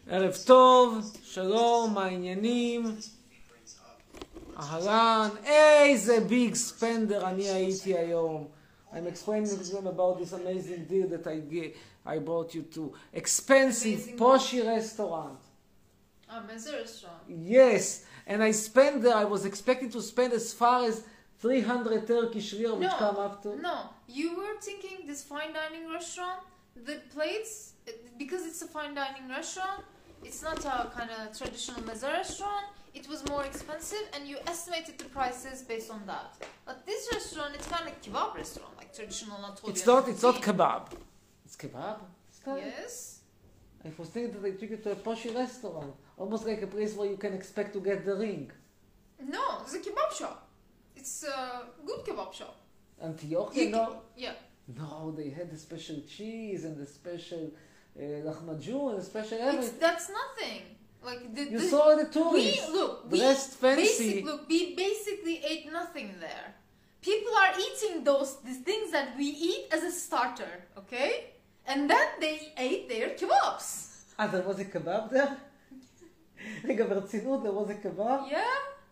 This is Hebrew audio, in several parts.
ערב טוב, שלום, מה העניינים? אהלן, איזה ביג ספנדר אני הייתי היום. I'm explaining to them about this amazing deal that I brought you to. Expensive, poshy restaurant. Mezze restaurant. Yes, and I spent there, I was expecting to spend as far as 300 Turkish lira, which come up to... No, you were thinking this fine dining restaurant, the plates, because it's a fine dining restaurant, it's not a kind of traditional mezze restaurant, it was more expensive and you estimated the prices based on that. But this restaurant, it's kind of kebab restaurant, like traditional Anatolian. It's not kebab. It's kebab? Yes. I was thinking that they took you to a poshy restaurant, almost like a place where you can expect to get the ring. No, it's a kebab shop. It's a good kebab shop. Antiochia? No. Yeah. No, they had the special cheese and the special lahmacun and the special everything. That's nothing. Like you saw the tourists. We basically ate nothing there. People are eating these things that we eat as a starter, okay? And then they ate their kebabs. There was a kebab there? רגע, ברצינות, there was a kebab? Yeah.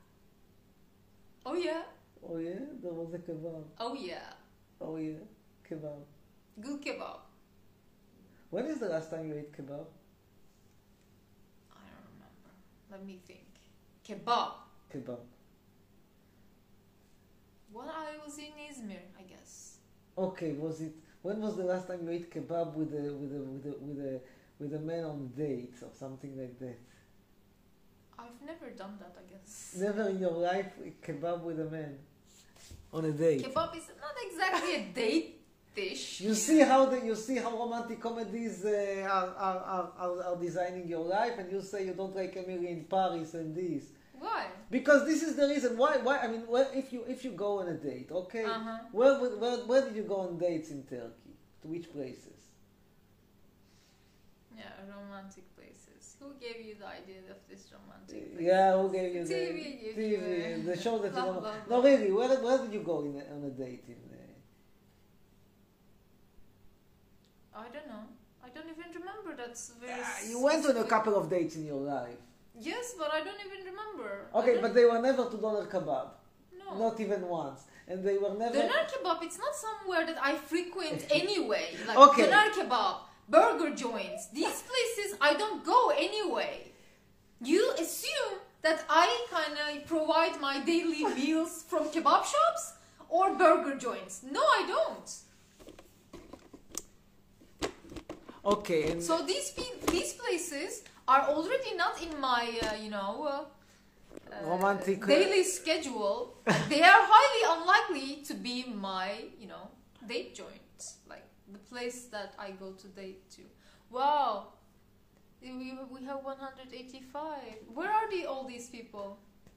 Oh yeah. Oh yeah, there was a kebab. Oh yeah. Oh yeah, kebab. Good kebab. When is the last time you ate kebab? I don't remember. Let me think. Kebab. Kebab. When I was in Izmir, I guess. Okay, when was the last time you ate kebab with a man on date or something like that? I've never done that, I guess. Never in your life kebab with a man on a date. Kebab is not exactly a date dish. You see how romantic comedies are designing your life, and you say you don't like Emily in Paris and this. Why? Because this is the reason why. I mean, if you go on a date, okay, where did you go on dates in Turkey? To which places? Yeah, romantic places. Who gave you the idea of this romantic place? Yeah, who gave you TV, the show that you don't know. No, really, where did you go on a date in? I don't know. I don't even remember. That's very. You went on a couple of dates in your life. Yes, but I don't even remember. Okay, but they were never to doner kebab. No. Not even once. And they were never... Doner kebab, it's not somewhere that I frequent anyway. Like okay. Doner kebab, burger joints, these places I don't go anyway. You assume that I kind of provide my daily meals from kebab shops or burger joints. No, I don't. Okay. And so these places are already not in my, romantic daily schedule. They are highly unlikely to be my, date joint. Like the place that I go to date to. Wow. We have 185. Where are all these people?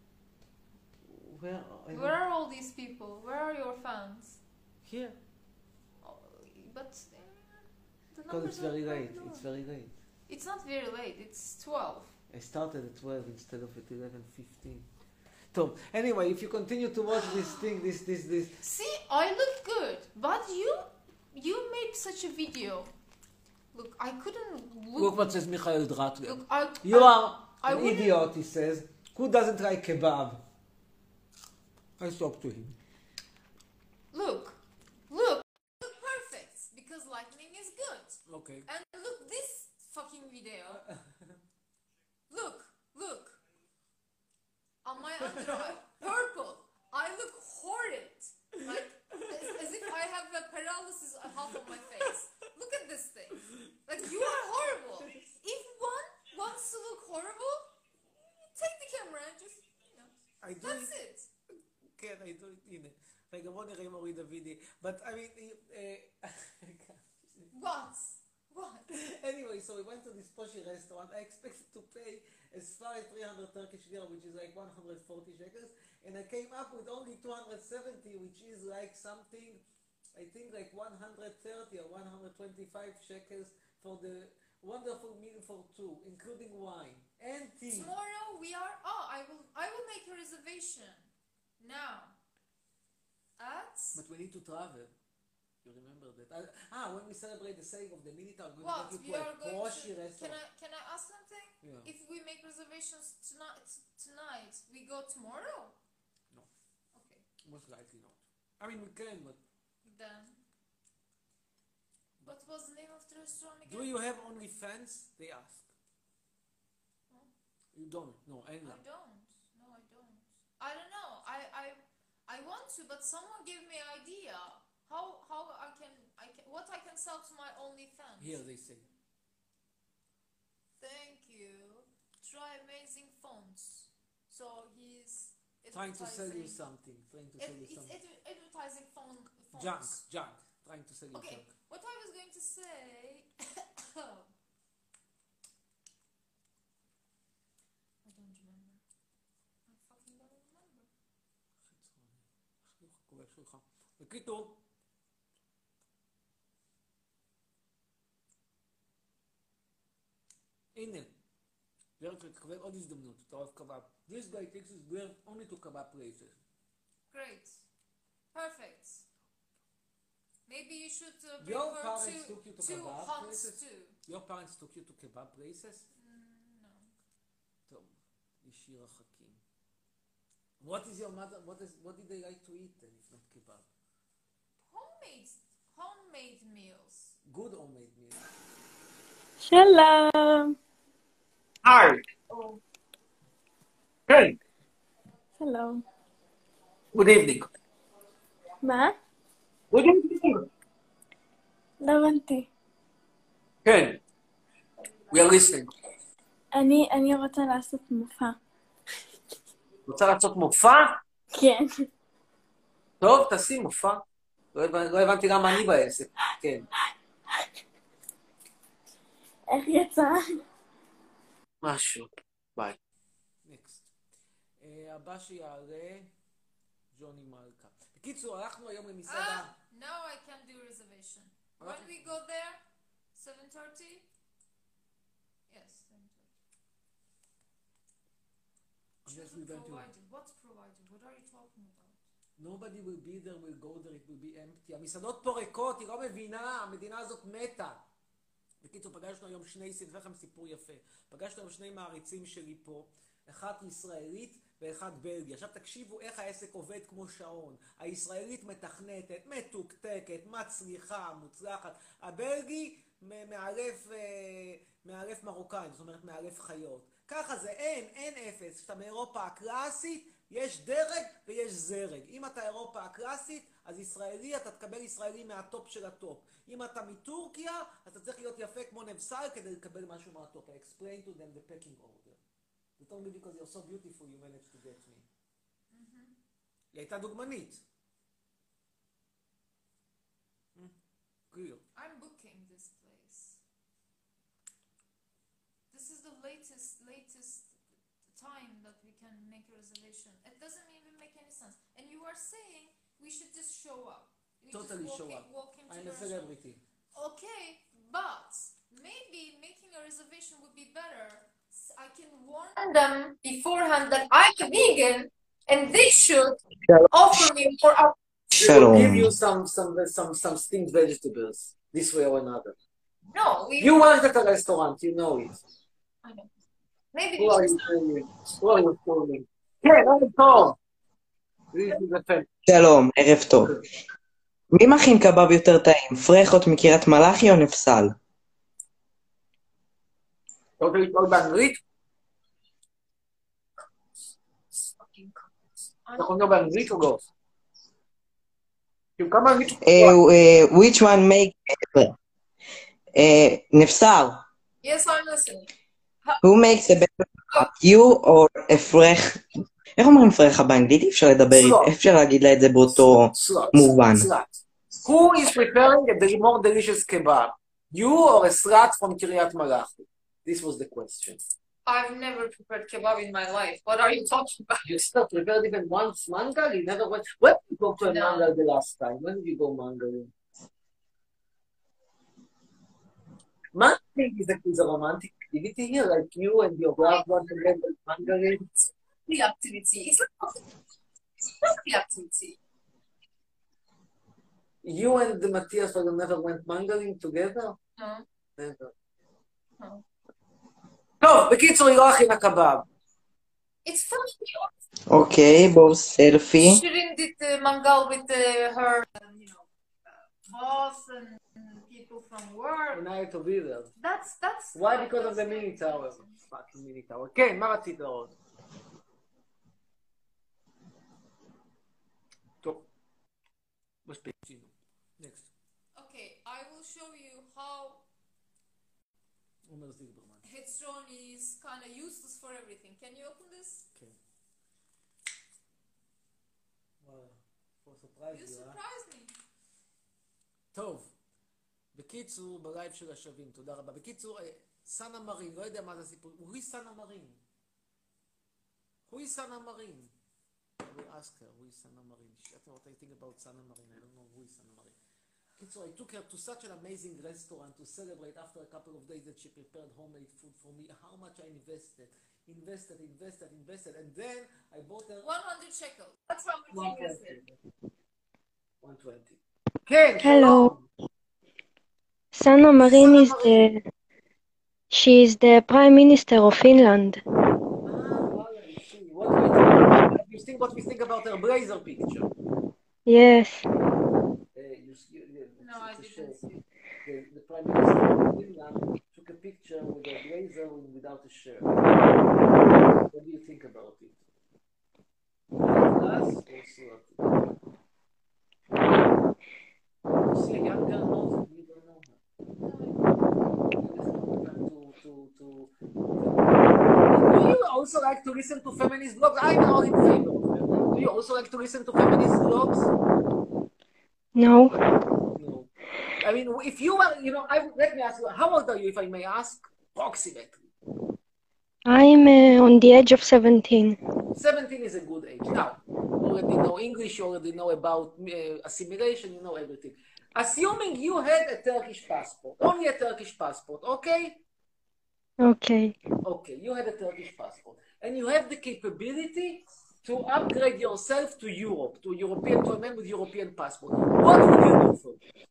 Where are all these people? Where are your fans? Here. Oh, but the because it's very late. Low. It's very late. It's not very late. It's 12. I started at 12 instead of at 11:15. So anyway, if you continue to watch this thing, this. See, I look good, but you made such a video. Look, I couldn't look. Look what says Michael Dratler. Look, you are an idiot, he says. Who doesn't like kebab? I talk to him. Look perfect because lightning is good. Okay. And look this fucking video. Look. On my underarm, purple. I look horrid. Like, as if I have a paralysis on half of my face. Look at this thing. Like, you are horrible. If one wants to look horrible, take the camera and just, that's it. כן, I do it, הנה. רגע, בוא נראה אם הוריד הוידאו. But, I mean... What? Anyway, so we went to this poshy restaurant. I expected to pay as far as 300 Turkish lira, which is like 140 shekels, and I came up with only 270, which is like something, I think like 130 or 125 shekels for the wonderful meal for two, including wine and tea. Tomorrow we are. I will make a reservation now. But we need to travel. You remember that? When we celebrate the saying of the Minotaur, we're What? going to We take you are to a going Porsche to. restaurant. Can I ask something? Yeah. If we make reservations tonight, we go tomorrow? No, Okay. most likely not. I mean, we can, but Then. What was the name of the restaurant again? do you have OnlyFans? They ask. No. You don't? No, I Ella. don't. No, I don't. I don't know. I want to, but someone give me idea. How I can what I can sell to my OnlyFans. Here they say. Thank you. Try amazing fonts. So he's Trying to sell you advertising- something. Trying to sell you It's something. advertising fonts. Junk. Trying to sell you Okay, junk. what I was going to say. I don't remember. I fucking don't remember. בקיצור, הנה, דרך תקבל עוד הזדמנות, אתה אוהב קבב. This guy takes his beer only to kebab places. Great. Perfect. Maybe you should Your prefer parents took you to to kebab Hans places? too. Your parents took you to kebab places? No. טוב, ישיר החכים. What is your mother, what did they like to eat then, if not kebab? Homemade meals. Good homemade meal. שלום. היי! כן. שלום. Good evening. מה? Good evening. לא הבנתי. כן. We are listening. אני רוצה לעשות מופע. רוצה לעשות מופע? כן. טוב, תעשי מופע. לא הבנתי למה אני בעסק. כן. איך יצא? משהו. ביי. נקסט. הבא שיעלה, ג'וני מלכה. בקיצור, הלכנו היום למסעדה. Now I can do reservation. When we go there, 7:30? Yes, 7:30. Yes, we went to. What's provided? What are you talking about? Nobody will be there, will go there, it will be empty. המסעדות פה ריקות, היא לא מבינה, המדינה הזאת מתה. בקיצור, פגשנו היום אספר לכם סיפור יפה. פגשנו היום שני מעריצים שלי פה, אחת ישראלית ואחד בלגי. עכשיו תקשיבו איך העסק עובד כמו שעון. הישראלית מתכנתת, מתוקתקת, מצליחה, מוצלחת. הבלגי מאלף מרוקאים, זאת אומרת מאלף חיות. ככה זה, אין אפס. כשאתה מאירופה הקלאסית, יש דרג ויש זרג. אם אתה אירופה הקלאסית, אז ישראלי, אתה תקבל ישראלי מהטופ של הטופ. אם אתה מטורקיה, אז אתה צריך להיות יפה כמו נבסל כדי לקבל משהו מהטופ. I explained to them the pecking order. They told me because you're so beautiful you managed to get me. היא הייתה דוגמנית. Clear. I'm booking this place. This is the latest time that we can make a reservation. It doesn't even make any sense. And you are saying we should just show up. We Totally just show up. walk into I'm the a restaurant. celebrity. Okay, but maybe making a reservation would be better. I can warn them beforehand that I'm a vegan and they should offer me more They will Shalom. give you some steamed vegetables, this way or another. No, You work at a restaurant, you know it. I know. Maybe Who are you fooling? Who are you fooling? כן, ערב טוב. This is a fan. שלום, ערב טוב. מי מכין קבב יותר טעים, פרחות מקריית מלאכי או נפסל? אתה רוצה לשאול באנגלית? אתה יכול לדבר באנגלית או לא? כאילו כמה אנגלית? Which one make... נפסל. Yes, I'm listening. Who makes a better cake, you or a פרח? איך אומרים פרחה באנגלית? אי אפשר לדבר, אי אפשר להגיד לה את זה באותו מובן. Slut. Who is preparing a more delicious kebab? You or a slut from Kiryat Malachi? This was the question. I've never prepared kebab in my life. What are you talking about? You still prepared even once mangal? You never went. When did you go to a No. mangal the last time? When did you go mangaling? Mangaling is a romantic activity here, like you and your loved one together mangaling. The activity. It's not the activity. You and Matthias never went mangling together? No. Never. No. טוב, בקיצור, היא לא הכינה קבב. It's funny. אוקיי, בואו סלפי. Shirin did the mangal with her, boss and people from work. And I had to be there. That's Why? Because of the mini tower. Fucking mini tower. כן, מה רצית לראות? טוב. מספיק. Next. Okay, I will show you how עומר זילברמן. Headstrong is kind of useless for everything. Can you open this? כן. וואו. For surprise You you, surprised me. טוב. בקיצור, בלייב של השווים, תודה רבה. בקיצור, סאנה מרין, לא יודע מה זה הסיפור. Who is סאנה מרין? Who is סאנה מרין? I will ask her, who is סאנה מרין? I don't know what I think about סאנה מרין. I don't know who is סאנה מרין. בקיצור, I took her to such an amazing restaurant to celebrate after a couple of days that she prepared homemade food for me. How much I invested. And then I bought her 100 shekels. That's how much you invested. 120. כן, Hello. Sanna Marin is she is the Prime Minister of Finland. What do you think? What we think about her blazer picture? Yes. No, I didn't see. The Prime Minister of Finland took a picture with a blazer without a shirt. What do you think about it? Us or Surat? You see a young girl knows it, you don't know her. Do you also like to listen to feminist blogs? I'm not in favor of them. Do you also like to listen to feminist blogs? No. No. I mean, if you are, let me ask you, how old are you, if I may ask? Approximately. I'm on the age of 17. 17 is a good age. Now, you already know English, you already know about assimilation, you know everything. Assuming you had a Turkish passport, only a Turkish passport, okay? Okay. Okay, you had a Turkish passport, and you have the capability to upgrade yourself to Europe, to a man with European passport. What would you do for it?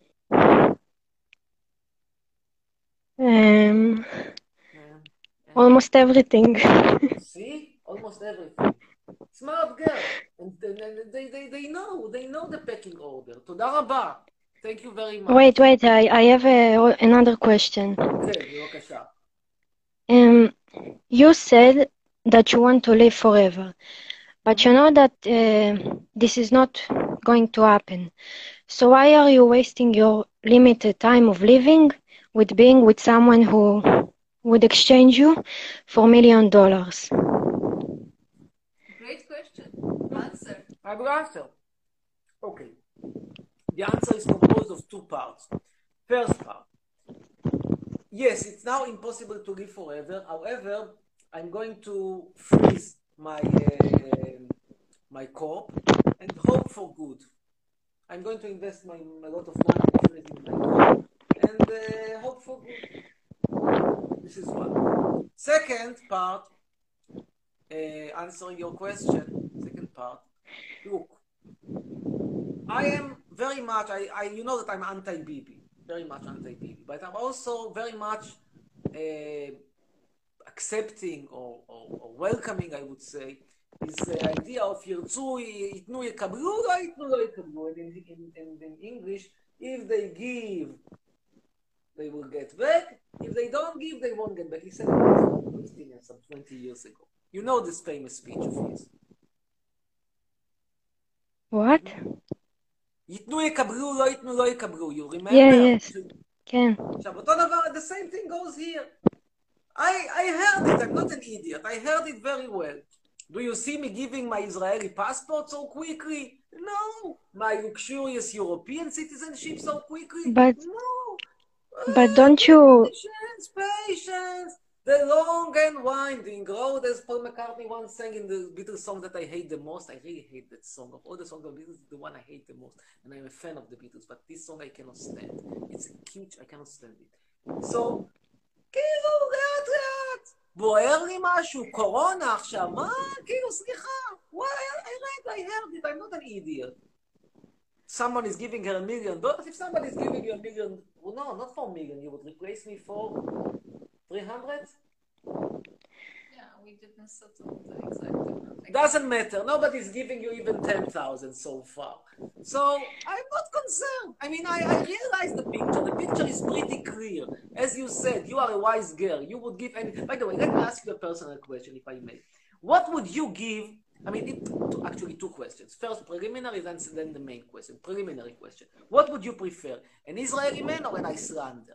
Almost everything. See? Almost everything. Smart girl. And they know the pecking order. תודה רבה. Thank you very much. Wait, I have another question. כן, בבקשה. You said that you want to live forever, but you know that this is not going to happen. So why are you wasting your limited time of living with being with someone who would exchange you for $1 million? Great question. Answer. I will answer. Okay. The answer is composed of two parts. First part. Yes, it's now impossible to live forever. However, I'm going to freeze my corp and hope for good. I'm going to invest a lot of money in freezing my corp and hope for good. This is one. Second part, answering your question, second part, look, I am very much, you know that I'm anti-Bibi, very much anti-Bibi, but I'm also very much accepting or welcoming, I would say, is the idea of ירצו, ייתנו יקבלו, לא ייתנו לא יקבלו. In English, if they give, they will get back. If they don't give, they won't get back. He said it some 20 years ago. You know this famous speech of his. What? ייתנו יקבלו, לא ייתנו לא יקבלו. You remember? Yes. כן. עכשיו, אותו דבר, the same thing goes here. I heard it, I'm not an idiot. I heard it very well. Do you see me giving my Israeli passport so quickly? No. My luxurious European citizenship so quickly? No. But don't you... Patience. The long and winding road, as Paul McCartney once sang in the Beatles song that I hate the most. I really hate that song. Of all the songs of the Beatles, the one I hate the most. And I'm a fan of the Beatles, but this song I cannot stand. It's a cute, I cannot stand it. So, כאילו, לאט. בוער לי משהו, קורונה עכשיו, מה? כאילו, סליחה. Why? I heard it, I'm not an idiot. someone is giving her $1 million, if somebody is giving you $1 million, well, no, not for $1 million, you would replace me for 300? Yeah, we didn't settle the exact amount. Doesn't matter. Nobody's giving you even 10,000 so far. So I'm not concerned. I mean, I realize the picture. The picture is pretty clear. As you said, you are a wise girl. You would give any. By the way, let me ask you a personal question, if I may. What would you give? I mean, actually, two questions. First, preliminary, then the main question. Preliminary question. What would you prefer, an Israeli man or an Icelander?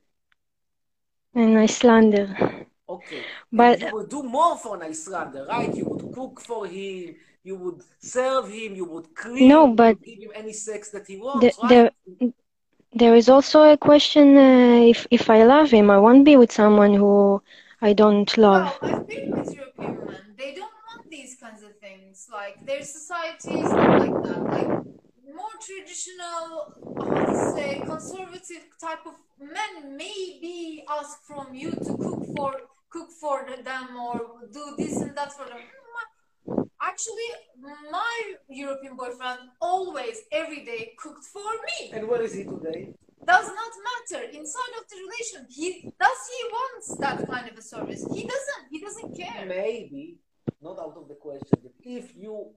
An Icelander. Okay. But you would do more for an Icelander, right? You would cook for him, you would serve him, you would clean, no, you but would give him any sex that he wants, there, right? there is also a question, if I love him, I won't be with someone who I don't love. Well, I've been with European men. They don't want these kinds of things. Like, their society is not like that. Like, more traditional, how to say, conservative type of men maybe ask from you to cook for them or do this and that for them. Actually, my European boyfriend always, every day, cooked for me. And where is he today? Does not matter. Inside of the relation, he wants that kind of a service. He doesn't care. Maybe, not out of the question, but if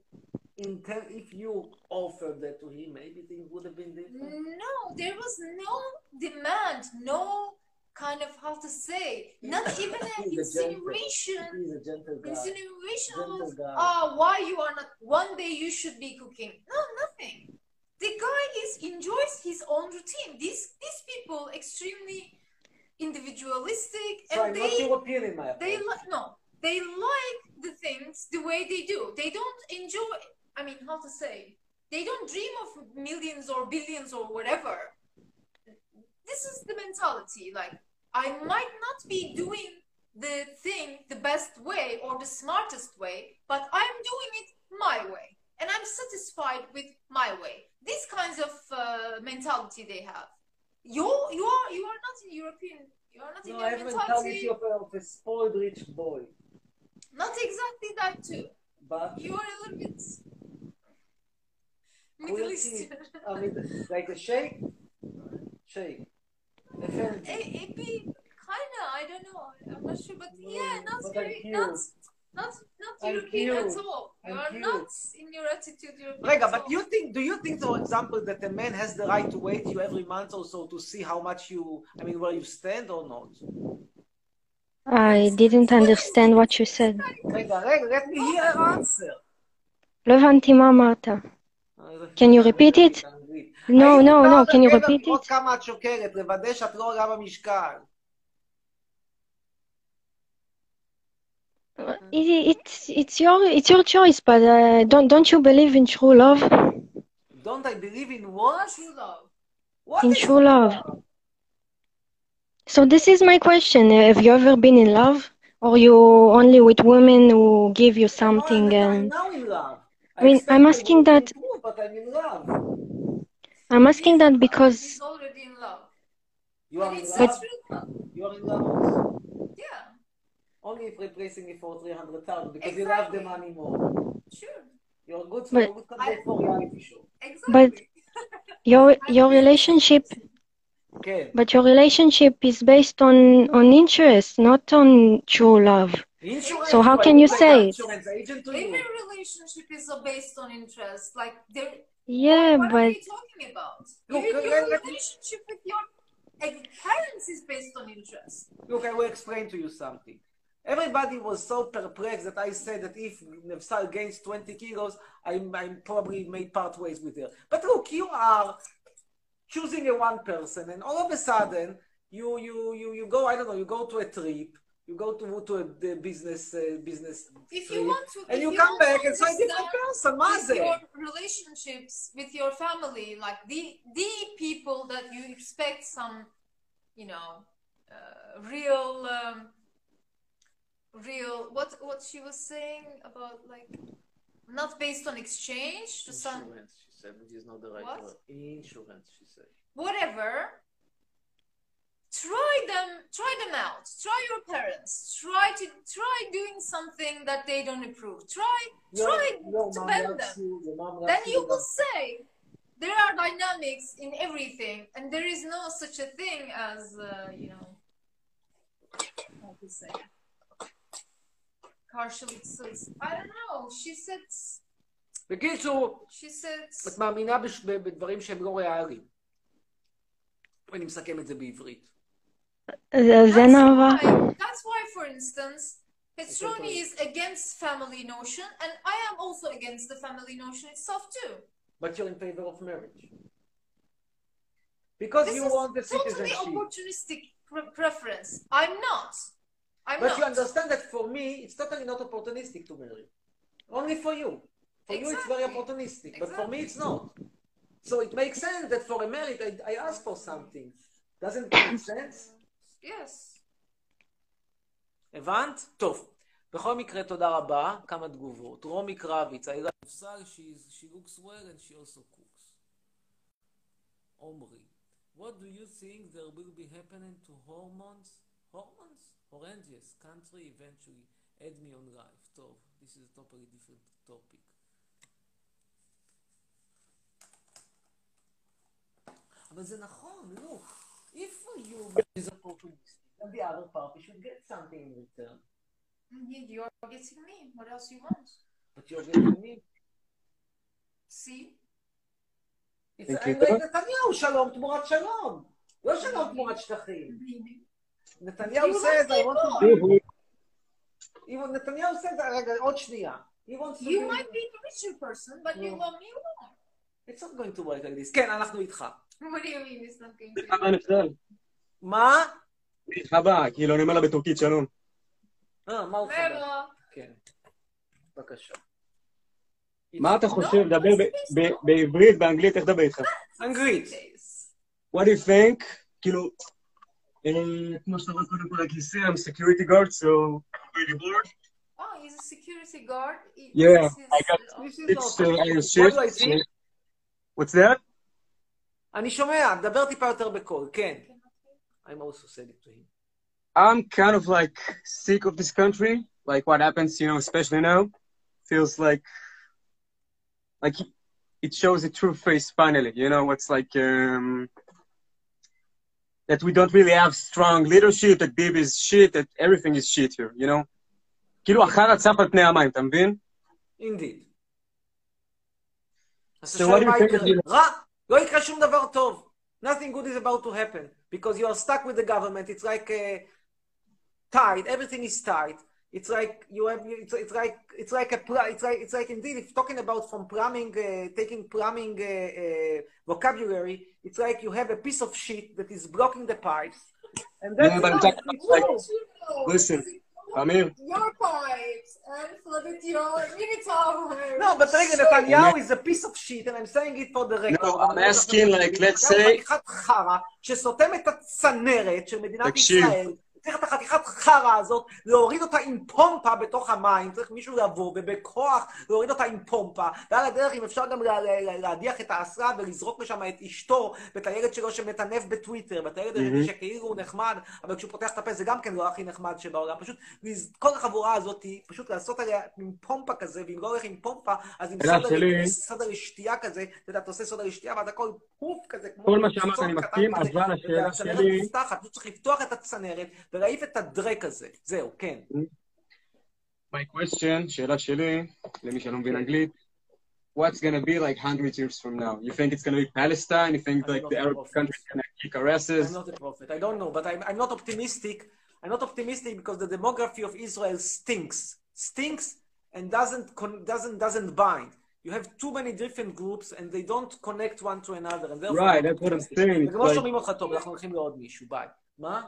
you offered that to him, maybe things would have been different. No, there was no demand, no kind of, how to say, not even an insinuation. He's a gentle guy. Insinuation Gentle of, guy. why you are not, one day you should be cooking. No, nothing. The guy enjoys his own routine. These people extremely individualistic, So and I'm not European in my opinion. they like the things the way they do. They don't enjoy, I mean, how to say, they don't dream of millions or billions or whatever. This is the mentality. Like, I might not be doing the thing the best way or the smartest way, but I'm doing it my way, and I'm satisfied with my way. These kinds of mentality they have. You are not in European. You are not in No, your I have a mentality. mentality of a spoiled rich boy. Not exactly that too. But You are a little bit Middle Eastern. I mean, like a sheikh? Sheikh. Maybe kinda. I don't know. I'm not sure, but yeah, not but very, I'm not I'm European at cute. all. You I'm are cute. not in your attitude European. Rega, at but all. do you think, for example, that a man has the right to wait you every month or so to see how much where you stand or not? I didn't understand what you said. Rega, let me hear her answer. לא הבנתי מה אמרת. Can you repeat it? No, can you repeat לראות it? כמה את שוקלת, לוודא שאת לא עולה במשקל. It's your choice, but don't you believe in true love? Don't I believe in what? True love. What In is true love. So this is my question. Have you ever been in love? Or you only with women who give you something I'm and... now in love. I mean, I'm asking that... But I'm in love. I'm asking that because... He's already in love. You are And in it's love? true love. You are in love also. Yeah, Only if replacing me for 300,000 because you love the Exactly. money more. sure. You're good But- for good candidate for reality show. Exactly. your relationship... Okay. But your relationship is based on interest, not on true love. Insurance. So how do I can look you like say an it? insurance agent to you? Every relationship is based on interest. Like, there. Yeah, what are but... you talking about? Look, your let me- relationship with your parents is based on interest. Look, I will explain to you something. Everybody was so perplexed that I said that if Nefsal gains 20 kilos, I probably made part ways with her. But look, you are choosing a one person, and all of a sudden, you go, I don't know, you go to a trip, you go to a business If trip, you want to, and if you you come want to back and say different person, understand with Maze. your relationships with your family, like the people that you expect some, real what she was saying about, like, not based on exchange to some Insurance, she said, which is not the right What? word. Insurance, she said. whatever. Try them out. Try your parents. Try doing something that they don't approve. Try Your to mom bend loves them. you, your mom loves Then you you, will say, there are dynamics in everything, and there is no such a thing as, how to say, karşılıksız. I don't know. בקיצור, She said, את מאמינה בדברים שהם לא ריאליים. אני מסכם את זה בעברית. זה נאווה. that's why, for instance, Hetzroni is against family notion, and I am also against the family notion itself too. But you're in favor of marriage. Because This you is want the totally citizenship. opportunistic preference. I'm not. But you understand that for me, it's totally not opportunistic to marry. Only for you. For you, it's very Exactly. opportunistic. But for me, it's not. So it makes sense that for a marriage, I ask for something. Doesn't it make sense? Yes. הבנת? טוב. בכל מקרה, תודה רבה. כמה תגובות. רומי קרביץ, I love she looks well and she also cooks. עומרי, what do you think there will be happening to hormones? Horrendous country eventually. Add me on life. טוב, this is a totally different topic. אבל זה נכון, look. If for you is opportunistic, then the other party should get something in return. You're getting me. What else you want? But you're getting me. See? It's like נתניהו, שלום תמורת שלום. לא שלום תמורת שטחים. נתניהו says, I want to... נתניהו says, רגע, עוד שנייה. You might be the richer person, but you love me more. It's not going to work like this. כן, אנחנו איתך. What do you mean it's not going to מרחבה נפתל. מה? מרחבה, כאילו אני אומר לה בטורקית שלום. מה הוא חבר? Merhaba. כן. בבקשה. מה אתה חושב? דבר בעברית, באנגלית, איך דבר איתך? אנגלית. What do you think? כאילו, כמו שאתה רואה קודם כל, like you say, I'm a security guard, so I'm really bored. Oh, he's a security guard. Yeah, I got This is 6 not- iron What do I shifts. see? What's that? אני שומע, דבר טיפה יותר בקול, כן. I'm also said it to him. I'm kind of like sick of this country, like what happens, you know, especially now. Feels like it shows a true face finally, you know, it's like that we don't really have strong leadership, that Bibi is shit, that everything is shit here, you know? כאילו החרא צף על פני המים, אתה מבין? Indeed. אז So what do you מה think יקרה? of רע, לא יקרה שום דבר טוב. Nothing good is about to happen. Because you are stuck with the government. It's like tight. Everything is tight. It's like you have. It's like indeed. If talking about from plumbing, taking plumbing vocabulary, it's like you have a piece of shit that is blocking the pipes, and that's Yeah, but it. it's like, listen, Amir, Your pipes and flooded your mini tower. No, but רגע, נתניהו is a piece of shit, and I'm saying it for the record. No, I'm asking, like, let's say... חתיכת חרא שסותם את הצנרת של מדינת תקשיב. ישראל. צריך את החתיכת חרא הזאת, להוריד אותה עם פומפה בתוך המים, צריך מישהו לבוא ובכוח להוריד אותה עם פומפה, ועל הדרך אם אפשר גם להדיח את האסרה ולזרוק לשם את אשתו ואת הילד שלו שמטנף בטוויטר, ואת הילד הזה שכאילו הוא נחמד, אבל כשהוא פותח את הפה זה גם כן לא הכי נחמד שבעולם, פשוט כל החבורה הזאת, פשוט לעשות עליה עם פומפה כזה, ואם לא הולך עם פומפה, אז עם סודר לשתייה כזה, אתה יודע, אתה עושה סודר לשתייה, ואתה כל פוף כזה, כל מה שאמרת אני מסכים, אבל השאלה שלי... פשוט צריך לפתוח את הצנרת, ולהעיף את הדרק הזה. זהו, כן. My question, שאלה שלי, למי שלא מבין אנגלית, what's going to be like 100 years from now? You think it's going to be Palestine? You think like the Arab country is going to kick our asses? I'm not a prophet. I don't know, but I'm not optimistic. I'm not optimistic because the demography of Israel stinks and doesn't bind. You have too many different groups and they don't connect one to another. And Right, that's what I'm saying. וגם לא שומעים אותך טוב, אנחנו הולכים לעוד מישהו. ביי. מה?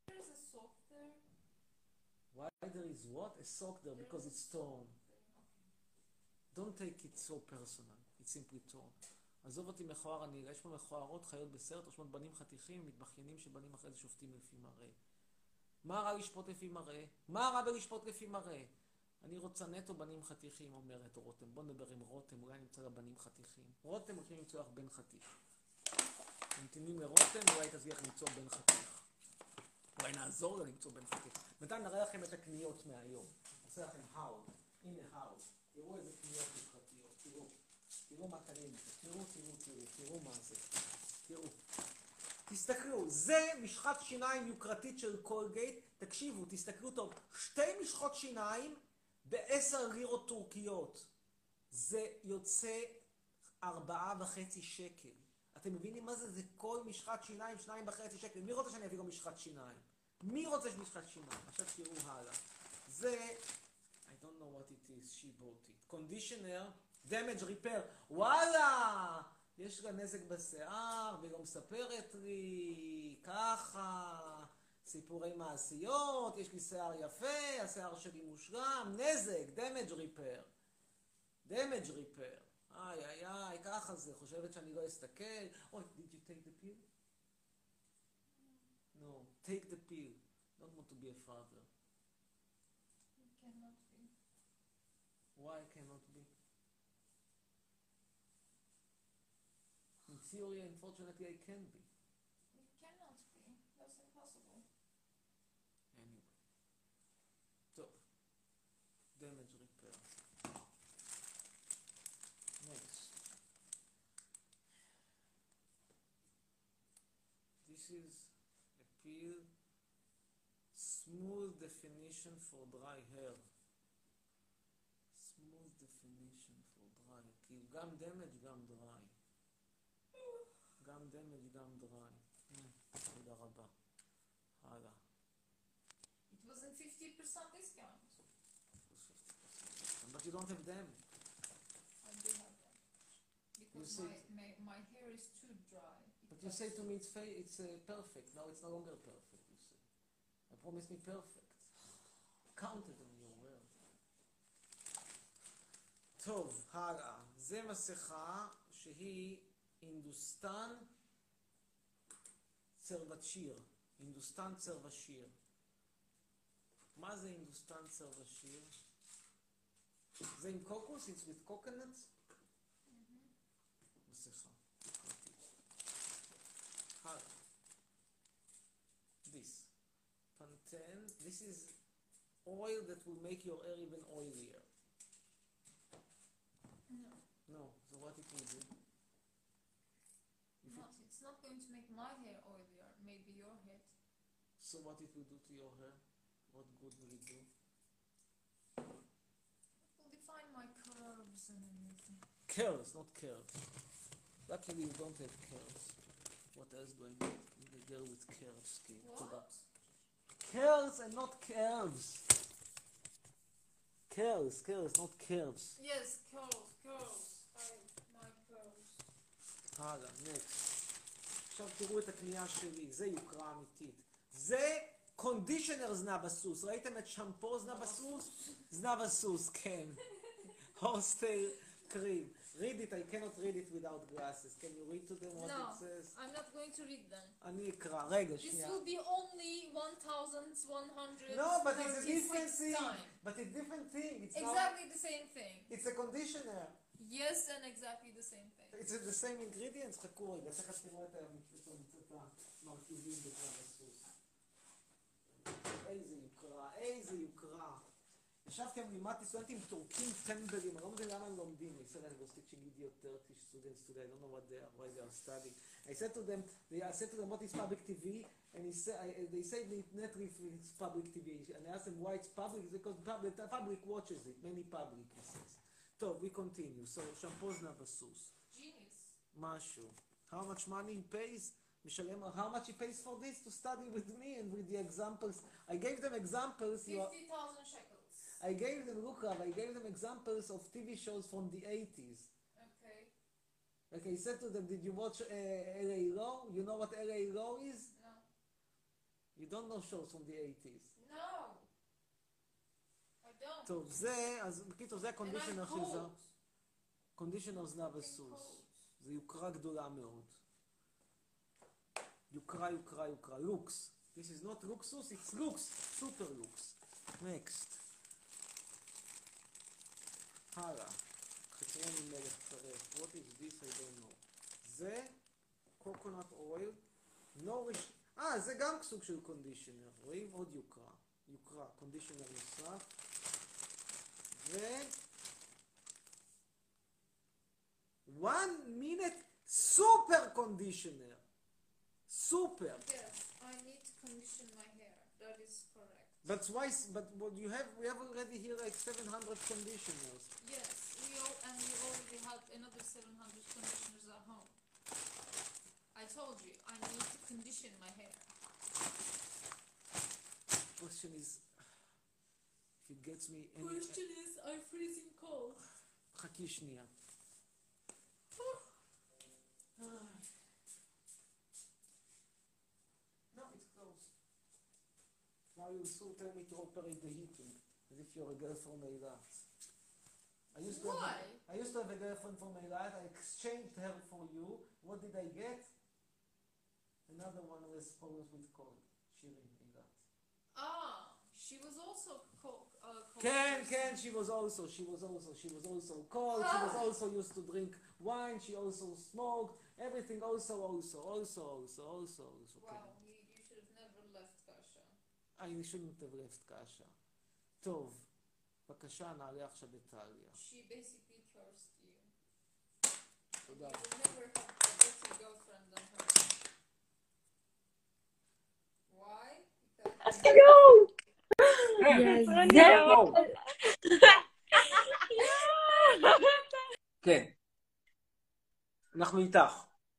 Why there is what? A sock there because it's torn. Don't take it so personal. It's simply torn. עזוב אותי מכוער הנראה, יש פה מכוערות, חיות בסרט, רושמות בנים חתיכים, מתבכיינים שבנים אחרי זה שופטים לפי מראה. מה רע לשפוט לפי מראה? מה רע בלשפוט לפי מראה? אני רוצה נטו בנים חתיכים, אומרת רותם. בוא נדבר עם רותם, אולי נמצא לה בנים חתיכים. רותם, הולכים למצוא לך בן חתיך. נמתינים לרותם, אולי תצליח למצוא בן חתיך. אולי נעזור לה למצוא בן חתיך. בינתיים נראה לכם את הקניות מהיום. נעשה לכם האול. הנה האול. תראו איזה קניות חברתיות. תראו. תראו מה קרים, תראו מה זה. תראו. תסתכלו, זה משחת שיניים יוקרתית של קולגייט. תקשיבו, תסתכלו טוב. 2 משחות שיניים ב10 לירות טורקיות. זה יוצא 4.5 שקל. אתם מבינים מה זה? זה כל משחת שיניים 2.5 שקל. מי רוצה שאני אביא לו משחת שיניים? מי רוצה משחת שיניים? עכשיו תראו הלאה. זה, I don't know what it is, she bought it. Conditioner, damage repair. וואלה! יש לה נזק בשיער, והיא לא מספרת לי, ככה, סיפורי מעשיות, יש לי שיער יפה, השיער שלי מושלם, נזק, damage repair. damage repair. איי, איי, איי, ככה זה, חושבת שאני לא אסתכל. אוי, did you take the pill? No, take the pill. Don't want to be a father. You cannot be. Why cannot be? In theory, unfortunately, I can be. You cannot be. That's impossible. Anyway. טוב. damage repair. Next. This is a peel smooth definition for dry hair. smooth definition for dry. כאילו גם damage, גם dry. גם damage, גם dry. תודה רבה. הלאה. It was in 50% discount. But you don't have them. I do have them. Because You my hair is too dry. But you say to me it's perfect. Now it's no longer perfect, you say. I promise me perfect. Counted on your word. טוב, הלאה. זה מסכה שהיא הינדוסטן צרוושיר. הינדוסטן צרוושיר. מה זה הינדוסטן צרוושיר? זה עם קוקוס? It's with coconut? מסכה. הלאה. This. Pantene. This is oil that will make your hair even oilier. No. No. So what it will do? It's not going to make my hair oilier. Maybe your head. So what it will do to your hair? What good will it do? It will define my curves and everything. Curls, not curls. Luckily you don't have curls. What else do I need? I need a girl with curls skin. What? Curls and not curves. Curls, not curves. Yes, curls. My curls. הלאה, next. עכשיו תראו את הקנייה שלי, זה יוקרה אמיתית. זה קונדישנר זנב הסוס. ראיתם את שמפו זנב הסוס? זנב הסוס, כן. הוסטל קרים. Read it, I cannot read it without glasses. Can you read to them what No, it says? I'm not going to read them. אני אקרא, רגע, This שנייה. will be only 1,100 No, but it's a different thing. time. But it's a different thing. It's Exactly the same thing. not, it's a conditioner. Yes, and exactly the same thing. It's the same ingredients. חכו רגע, תכף תראו את המרכיבים בזנב הסוס. איזה יוקרה. ישבתי עם לימדתי סטודנטים טורקים טמבלים, אני לא מבין למה הם לומדים. I said I was teaching idiot Turkish students today, I don't know why they are studying. I said to them what is public TV, and they say Netflix is public TV, and I asked them why it's public, it's because the public watches it, many public, he says. טוב, we continue. So, shampoo זנב הסוס. Genius. משהו. How much money he pays? משלם, how much he pays for this to study with me and with the examples. I gave them examples. 50,000 shekels. I gave them, look Rav, I gave them examples of TV shows from the 80s. Okay. Like I said to them, did you watch LA Law? You know what LA Law is? No. You don't know shows from the 80s. No. I don't. טוב, זה, אז בקיצור, זה הקונדישנר And I'm של זה. cold. קונדישנר זנב I'm הסוס. cold. זה יוקרה גדולה מאוד. יוקרה. לוקס. This is not luxus, it's lux. Super lux. Next. הלאה. חצרון עם מלך צרף. What is this? I don't know. זה coconut oil. נוריש. זה גם סוג של קונדישנר. רואים? עוד יוקרה. קונדישנר נוסף. 1 minute super conditioner. Super. Yes, I need to condition my hair. That is correct. But why? But what you have? We have already here like 700 conditioners. Yes, we already have another 700 conditioners at home. I told you, I need to condition my hair. Question is, if it gets me any... Question is, I'm freezing cold. חכי שנייה. No, it's closed. Now you still tell me to operate the heating, as if you're a girl from Eilat. Why? I used to have a girlfriend from Eilat. I exchanged her for you. What did I get? Another one who was always with cold. Shirin Eilat. Ah, she was also cold. Ken, she was also cold. She was also used to drink wine. She also smoked. Everything also. Wow, Ken. you should have never left Kasha. I shouldn't have left Kasha. טוב, בבקשה, נעלה עכשיו את טליה. She basically cursed you. תודה. You will never have a better girlfriend than her. Why? Because כן. אנחנו איתך.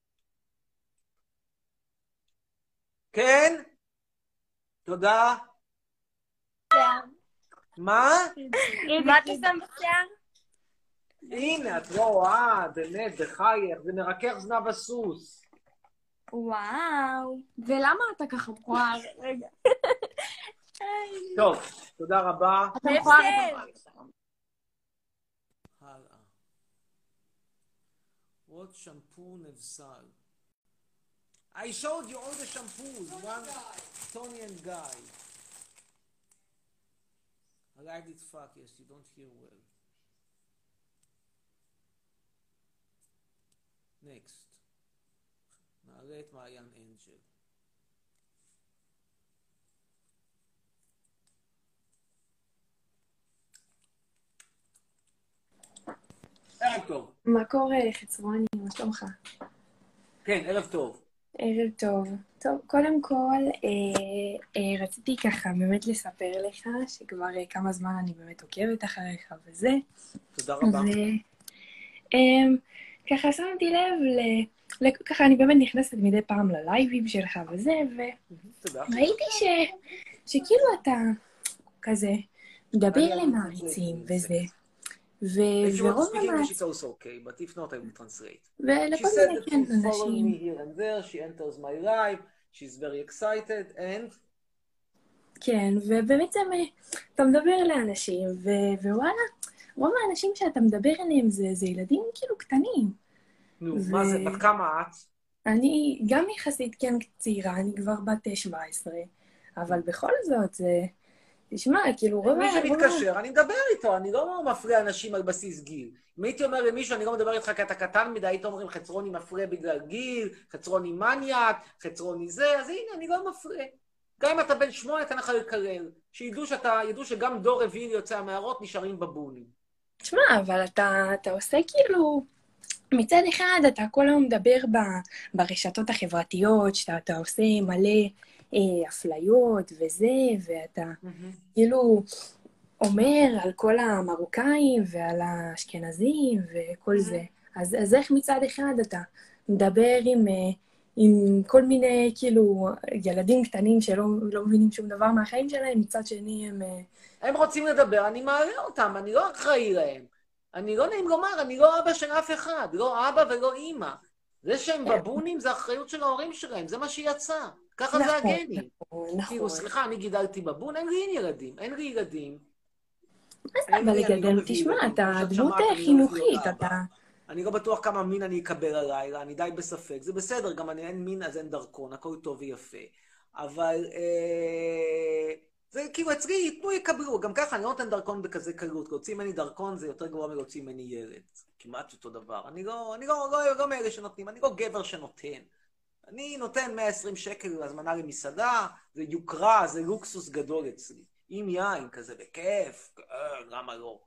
כן? תודה. מה? מה אתה שם בשיער? הנה, את לא רואה, באמת, בחייך, זה מרכך זנב הסוס. וואו. ולמה אתה ככה מכוער? רגע. טוב, תודה רבה. אתה מכוער. הלאה. What shampoo נבסל? I showed you all the shampoos. One, Tony and Guy. I like it fuck, yes, you don't hear well. Next. נעלה את מעיין אנג'ל. ערב טוב. מה קורה, חצרוני? מה שלומך? כן, ערב טוב. ערב טוב. טוב, קודם כל, רציתי ככה באמת לספר לך שכבר כמה זמן אני באמת עוקבת אחריך וזה. תודה רבה. ככה שמתי לב, ככה אני באמת נכנסת מדי פעם ללייבים שלך וזה, וראיתי שכאילו אתה כזה מדבר למעריצים וזה. If you want to speak English, it's also okay, but if not, I will translate. She said that she's following me here and there, she enters my live, she's very excited, and... כן, ובאמת אתה מדבר לאנשים, ווואלה, רוב האנשים שאתה מדבר עליהם זה ילדים כאילו קטנים. נו, מה זה, בת כמה את? אני גם יחסית כן צעירה, אני כבר בת 17, אבל בכל זאת זה... תשמע, כאילו רוב... מי שמתקשר, אני מדבר איתו, אני לא מפריע אנשים על בסיס גיל. אם הייתי אומר למישהו, אני לא מדבר איתך כי אתה קטן מדי, הייתי אומרים חצרוני מפריע בגלל גיל, חצרוני מניאק, חצרוני זה, אז הנה, אני לא מפריע. גם אם אתה בן 8, אתה יכול לקרר. שידעו שגם דור רביעי יוצא המערות נשארים בבונים. תשמע, אבל אתה עושה כאילו... מצד אחד, אתה כל היום מדבר ברשתות החברתיות, שאתה עושה מלא... אפליות וזה, ואתה כאילו אומר על כל המרוקאים ועל האשכנזים וכל זה. אז איך מצד אחד אתה מדבר עם כל מיני כאילו ילדים קטנים שלא מבינים שום דבר מהחיים שלהם, מצד שני הם רוצים לדבר, אני מעלה אותם, אני לא אחראי להם. אני לא נעים לומר, אני לא אבא של אף אחד, לא אבא ולא אמא. זה שהם בבונים זה אחריות של ההורים שלהם, זה מה שיצא. ככה זה הגנים. כאילו, סליחה, אני גידלתי בבון, אין לי ילדים. אבל לגדל, תשמע, אתה דמות חינוכית, אתה... אני לא בטוח כמה מין אני אקבל הלילה, אני די בספק. זה בסדר, גם אני אין מין אז אין דרכון, הכל טוב ויפה. אבל זה כאילו אצלי, ייתנו יקבלו. גם ככה, אני לא נותן דרכון בכזה קלות. להוציא ממני דרכון זה יותר גרוע מלהוציא ממני ילד. כמעט אותו דבר. אני לא מאלה שנותנים, אני לא גבר שנותן. אני נותן 120 שקל הזמנה למסעדה, זה יוקרה, זה לוקסוס גדול אצלי. עם יין כזה, בכיף, למה לא?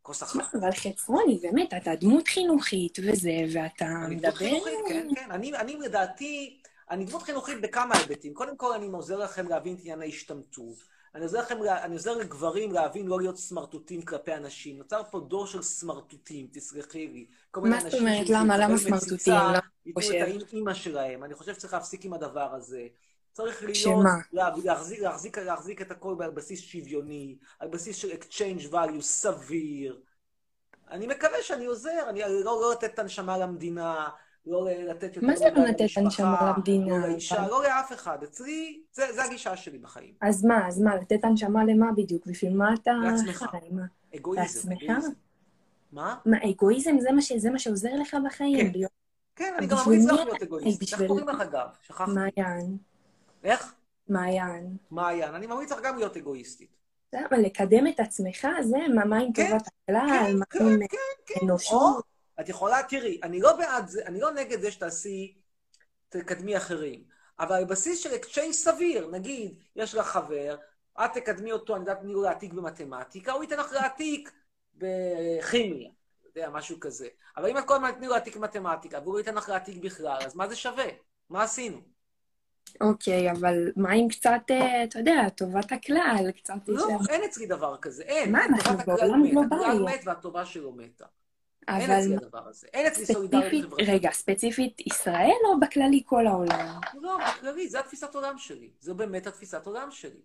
כוס אחת. אבל חצרוני, באמת, אתה דמות חינוכית וזה, ואתה אני מדבר... דמות חינוכית, כן, כן. אני לדעתי, אני דמות חינוכית בכמה היבטים. קודם כל, אני עוזר לכם להבין את עניין ההשתמטות. אני עוזר לגברים להבין לא להיות סמרטוטים כלפי אנשים. נוצר פה דור של סמרטוטים, תסלחי לי. מה זאת אומרת? למה סמרטוטים? למה ייתנו חושב? את האמא שלהם. אני חושב שצריך להפסיק עם הדבר הזה. צריך להיות, שמה? להחזיק את הכל על בסיס שוויוני, על בסיס של exchange value סביר. אני מקווה שאני עוזר, אני לא לתת את הנשמה למדינה, לא לתת יותר מה זה לא לתת למשפחה, הנשמה למדינה? לא לאישה, לא לאף אחד. אצלי, זה הגישה שלי בחיים. אז מה, לתת הנשמה למה בדיוק? בשביל מה אתה... לעצמך. חי? מה? אגואיזם. לעצמך? אגואיזם. מה? מה, אגואיזם זה מה שעוזר לך בחיים? כן. להיות- כן, אני גם בשביל ממליץ לך מי? להיות אגואיסט. איך בשביל- קוראים לך אגב? שכחתי. מעיין. איך? מעיין. מעיין. אני ממליץ לך גם להיות אגואיסטית. זה, אבל לקדם את עצמך, זה מה עם כן, טובת הכלל, כן, מה כן, עם כן. אנושות. את יכולה, תראי, אני לא בעד זה, אני לא נגד זה שתעשי, תקדמי אחרים, אבל על בסיס של exchange סביר, נגיד, יש לך חבר, את תקדמי אותו, אני יודעת, תני לו להעתיק במתמטיקה, הוא ייתן לך להעתיק בכימיה, אתה יודע, משהו כזה. אבל אם את כל הזמן תני לו להעתיק במתמטיקה, והוא ייתן לך להעתיק בכלל, אז מה זה שווה? מה עשינו? אוקיי, אבל מה עם קצת, אתה יודע, טובת הכלל, קצת... לא, יש- אין אצלי דבר כזה, אין. מה, אנחנו טובת הכלל בעולם מת, הכלל גלובלי. מת והטובה שלו מתה. אין אבל אצלי הדבר הזה. אין אצלי סולידריות ספציפית, חברתית. רגע, ספציפית ישראל או בכללי כל העולם? לא, בכללי, זה התפיסת עולם שלי. זו באמת התפיסת עולם שלי.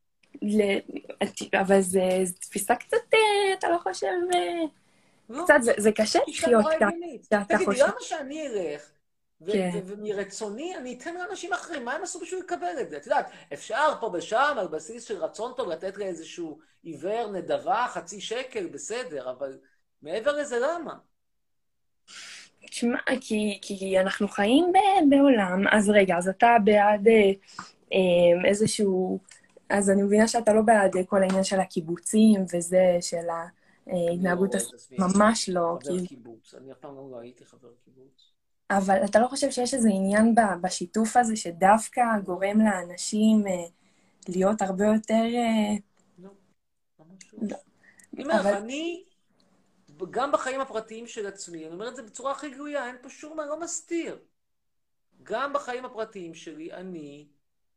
אבל זה תפיסה קצת, אתה לא חושב... לא, קצת, זה קשה אישה לחיות נורא ככה, הגיונית. שאתה תגידי, חושב... למה שאני אלך, כן. ומרצוני אני אתן לאנשים אחרים, מה הם עשו בשביל לקבל את זה? את יודעת, אפשר פה ושם, על בסיס של רצון טוב, לתת לאיזשהו עיוור נדבה, 0.5 שקל, בסדר, אבל מעבר לזה, למה? תשמע, כי אנחנו חיים בעולם, אז רגע, אז אתה בעד איזשהו... אז אני מבינה שאתה לא בעד כל העניין של הקיבוצים וזה, של ההתנהגות לא, הסביבתית, ממש לא. חבר קיבוץ, אני אף פעם לא הייתי חבר קיבוץ. אבל אתה לא חושב שיש איזה עניין בשיתוף הזה, שדווקא גורם לאנשים להיות הרבה יותר... לא, ממש לא. לא. אני אומר לך, אבל- אני, גם בחיים הפרטיים של עצמי, אני אומר את זה בצורה הכי גלויה, אין פה שום מה, לא מסתיר. גם בחיים הפרטיים שלי, אני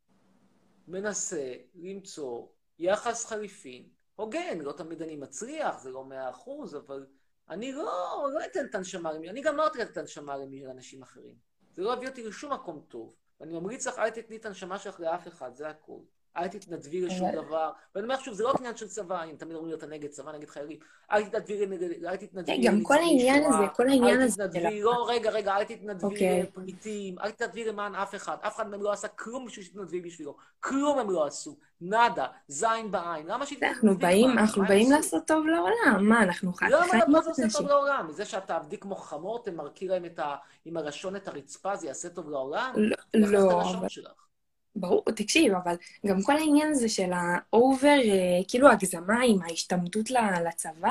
מנסה למצוא יחס חליפין, הוגן, לא תמיד אני מצליח, זה לא 100%, אבל אני לא אתן את הנשמה למי, אני גם לא אתן את הנשמה לאנשים אחרים. זה לא הביא אותי לשום מקום טוב. ואני ממליץ לך, אל תתני את הנשמה שלך לאף אחד, זה הכל. אל תתנדבי לשום דבר. ואני אומר שוב, זה לא עניין של צבא, אם תמיד אומרים אתה נגד צבא, נגד חיילים. אל תתנדבי גם כל העניין הזה, כל העניין הזה... אל תתנדבי, לא, רגע, אל תתנדבי אוקיי. לפריטים, אל תתנדבי למען אף אחד. אף אחד מהם לא עשה כלום בשביל שתתנדבי בשבילו. כלום הם לא עשו. נדה, זין בעין. למה שתתנדבי? אנחנו באים לעשות טוב לעולם. מה, אנחנו חיים למה זה עושה אנשים. טוב לעולם? מזה שאתה עבדי כמו חמור, תמרקי להם עם הלשון את הרצפה, זה יעשה טוב לעולם? לא, זה אבל... שלך. ברור, תקשיב, אבל גם כל העניין הזה של האובר, כאילו הגזמה עם ההשתמטות לצבא,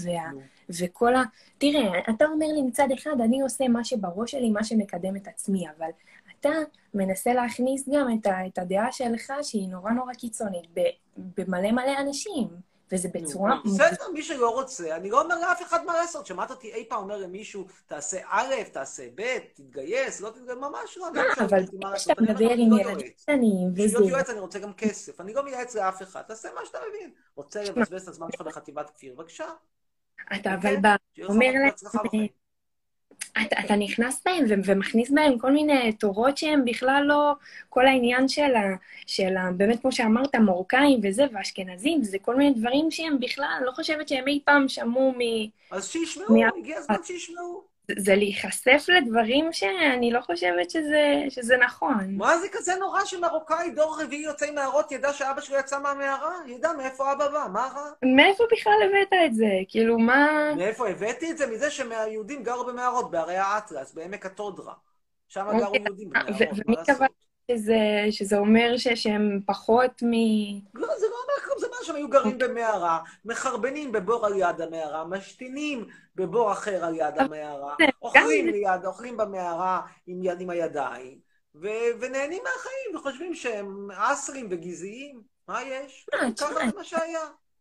וכל ה... תראה, אתה אומר לי מצד אחד, אני עושה מה שבראש שלי, מה שמקדם את עצמי, אבל אתה מנסה להכניס גם את הדעה שלך, שהיא נורא נורא קיצונית, במלא מלא אנשים, וזה בצורה... בסדר, מי שלא רוצה, אני לא אומר לאף אחד מה לעשות. שמעת אותי אי פעם אומר למישהו, תעשה א', תעשה ב', תתגייס, לא תתגייס, ממש לא. אבל כשאתה מדבר עם ילדים קטנים, וזה... בשביל להיות יועץ אני רוצה גם כסף, אני לא מייעץ לאף אחד, תעשה מה שאתה מבין. רוצה לבזבז את הזמן שלך בחטיבת כפיר, בבקשה. אתה אבל אומר להם, אתה נכנס בהם ומכניס בהם כל מיני תורות שהם בכלל לא, כל העניין של באמת כמו שאמרת, מרוקאים וזה, ואשכנזים, זה כל מיני דברים שהם בכלל, אני לא חושבת שהם אי פעם שמעו אז שישמעו, הגיע הזמן שישמעו. זה להיחשף לדברים שאני לא חושבת שזה נכון. מה זה כזה נורא שמרוקאי דור רביעי יוצא עם מערות, ידע שאבא שלו יצא מהמערה? ידע מאיפה אבא בא, מה רע? מאיפה בכלל הבאת את זה? כאילו מה... מאיפה הבאתי את זה? מזה שהיהודים גרו במערות, בערי האטלס, בעמק התודרה. שם גרו יהודים במערות, ומי קבע שזה אומר שהם פחות מ... לא, זה לא אומר כלום, זה אומר שהם היו גרים במערה, מחרבנים בבור על יד המערה, משתינים בבור אחר על יד המערה, אוכלים במערה עם הידיים, ונהנים מהחיים, וחושבים שהם אסרים וגזעיים. מה יש? ככה זה מה שהיה.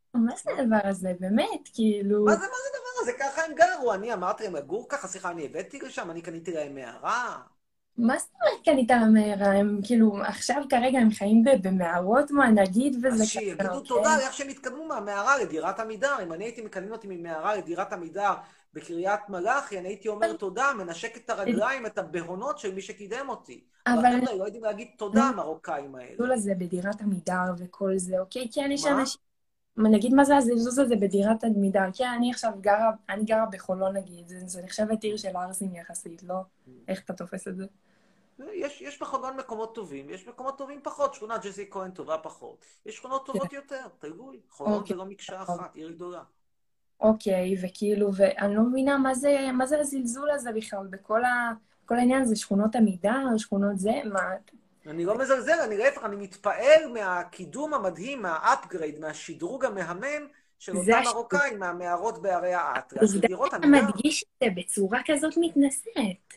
מה זה הדבר הזה? באמת, כאילו... מה זה הדבר הזה? ככה הם גרו. אני אמרתי להם לגור ככה, סליחה, אני הבאתי לשם, אני קניתי להם מערה. מה זאת אומרת קנית למהרה? הם כאילו, עכשיו כרגע הם חיים במערות, מה נגיד, וזה אז ככה, שיגידו תודה על איך שהם התקדמו מהמערה לדירת עמידר. אם אני הייתי מקדם אותי ממערה לדירת עמידר בקריית מלאכי, אני הייתי אומר תודה, מנשק את הרגליים, את הבהונות של מי שקידם אותי. אבל אבל חבר'ה, לא יודעים להגיד תודה, המרוקאים האלה. הזלזול הזה בדירת עמידר וכל זה, אוקיי? כן, יש מה? אנשים... נגיד מה זה הזלזול הזה בדירת עמידר? כן, אני עכשיו גרה בחולון נגיד, זה נחשבת עיר של ערסים יחסית, לא? איך אתה תופס את זה? יש בחולון מקומות טובים, יש מקומות טובים פחות, שכונת ג'סי כהן טובה פחות. יש שכונות טובות יותר, תלוי. חולון זה לא מקשה אחת, עיר גדולה. אוקיי, וכאילו, ואני לא מבינה מה זה הזלזול הזה בכלל, כל העניין הזה, שכונות עמידר, שכונות זה, מה... אני לא מזלזל, אני להפך, אני מתפעל מהקידום המדהים, מהאפגרייד, מהשדרוג המהמם של אותם מרוקאים, מהמערות בערי האטלס. אתה מדגיש את זה בצורה כזאת מתנשאת.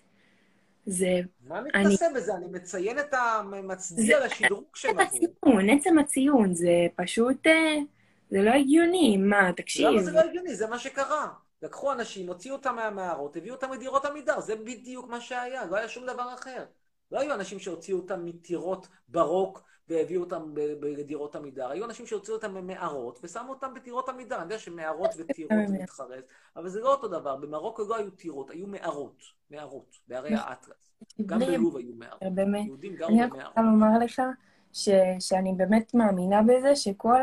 זה... מה מתנשא בזה? אני מציין את המצדיע לשדרוג שהם עברו. עצם הציון, זה פשוט... זה לא הגיוני, מה, תקשיב. למה זה לא הגיוני? זה מה שקרה. לקחו אנשים, הוציאו אותם מהמערות, הביאו אותם לדירות עמידר, זה בדיוק מה שהיה, לא היה שום דבר אחר. לא היו אנשים שהוציאו אותם מטירות ברוק והביאו אותם לדירות עמידר, היו אנשים שהוציאו אותם ממערות ושמו אותם בטירות עמידר. אני יודע שמערות וטירות זה מתחרז, אבל זה לא אותו דבר. במרוקו לא היו טירות, היו מערות, בערי האטלס. גם בלוב היו מערות. יהודים גרו במערות. אני רוצה לומר לך שאני באמת מאמינה בזה שכל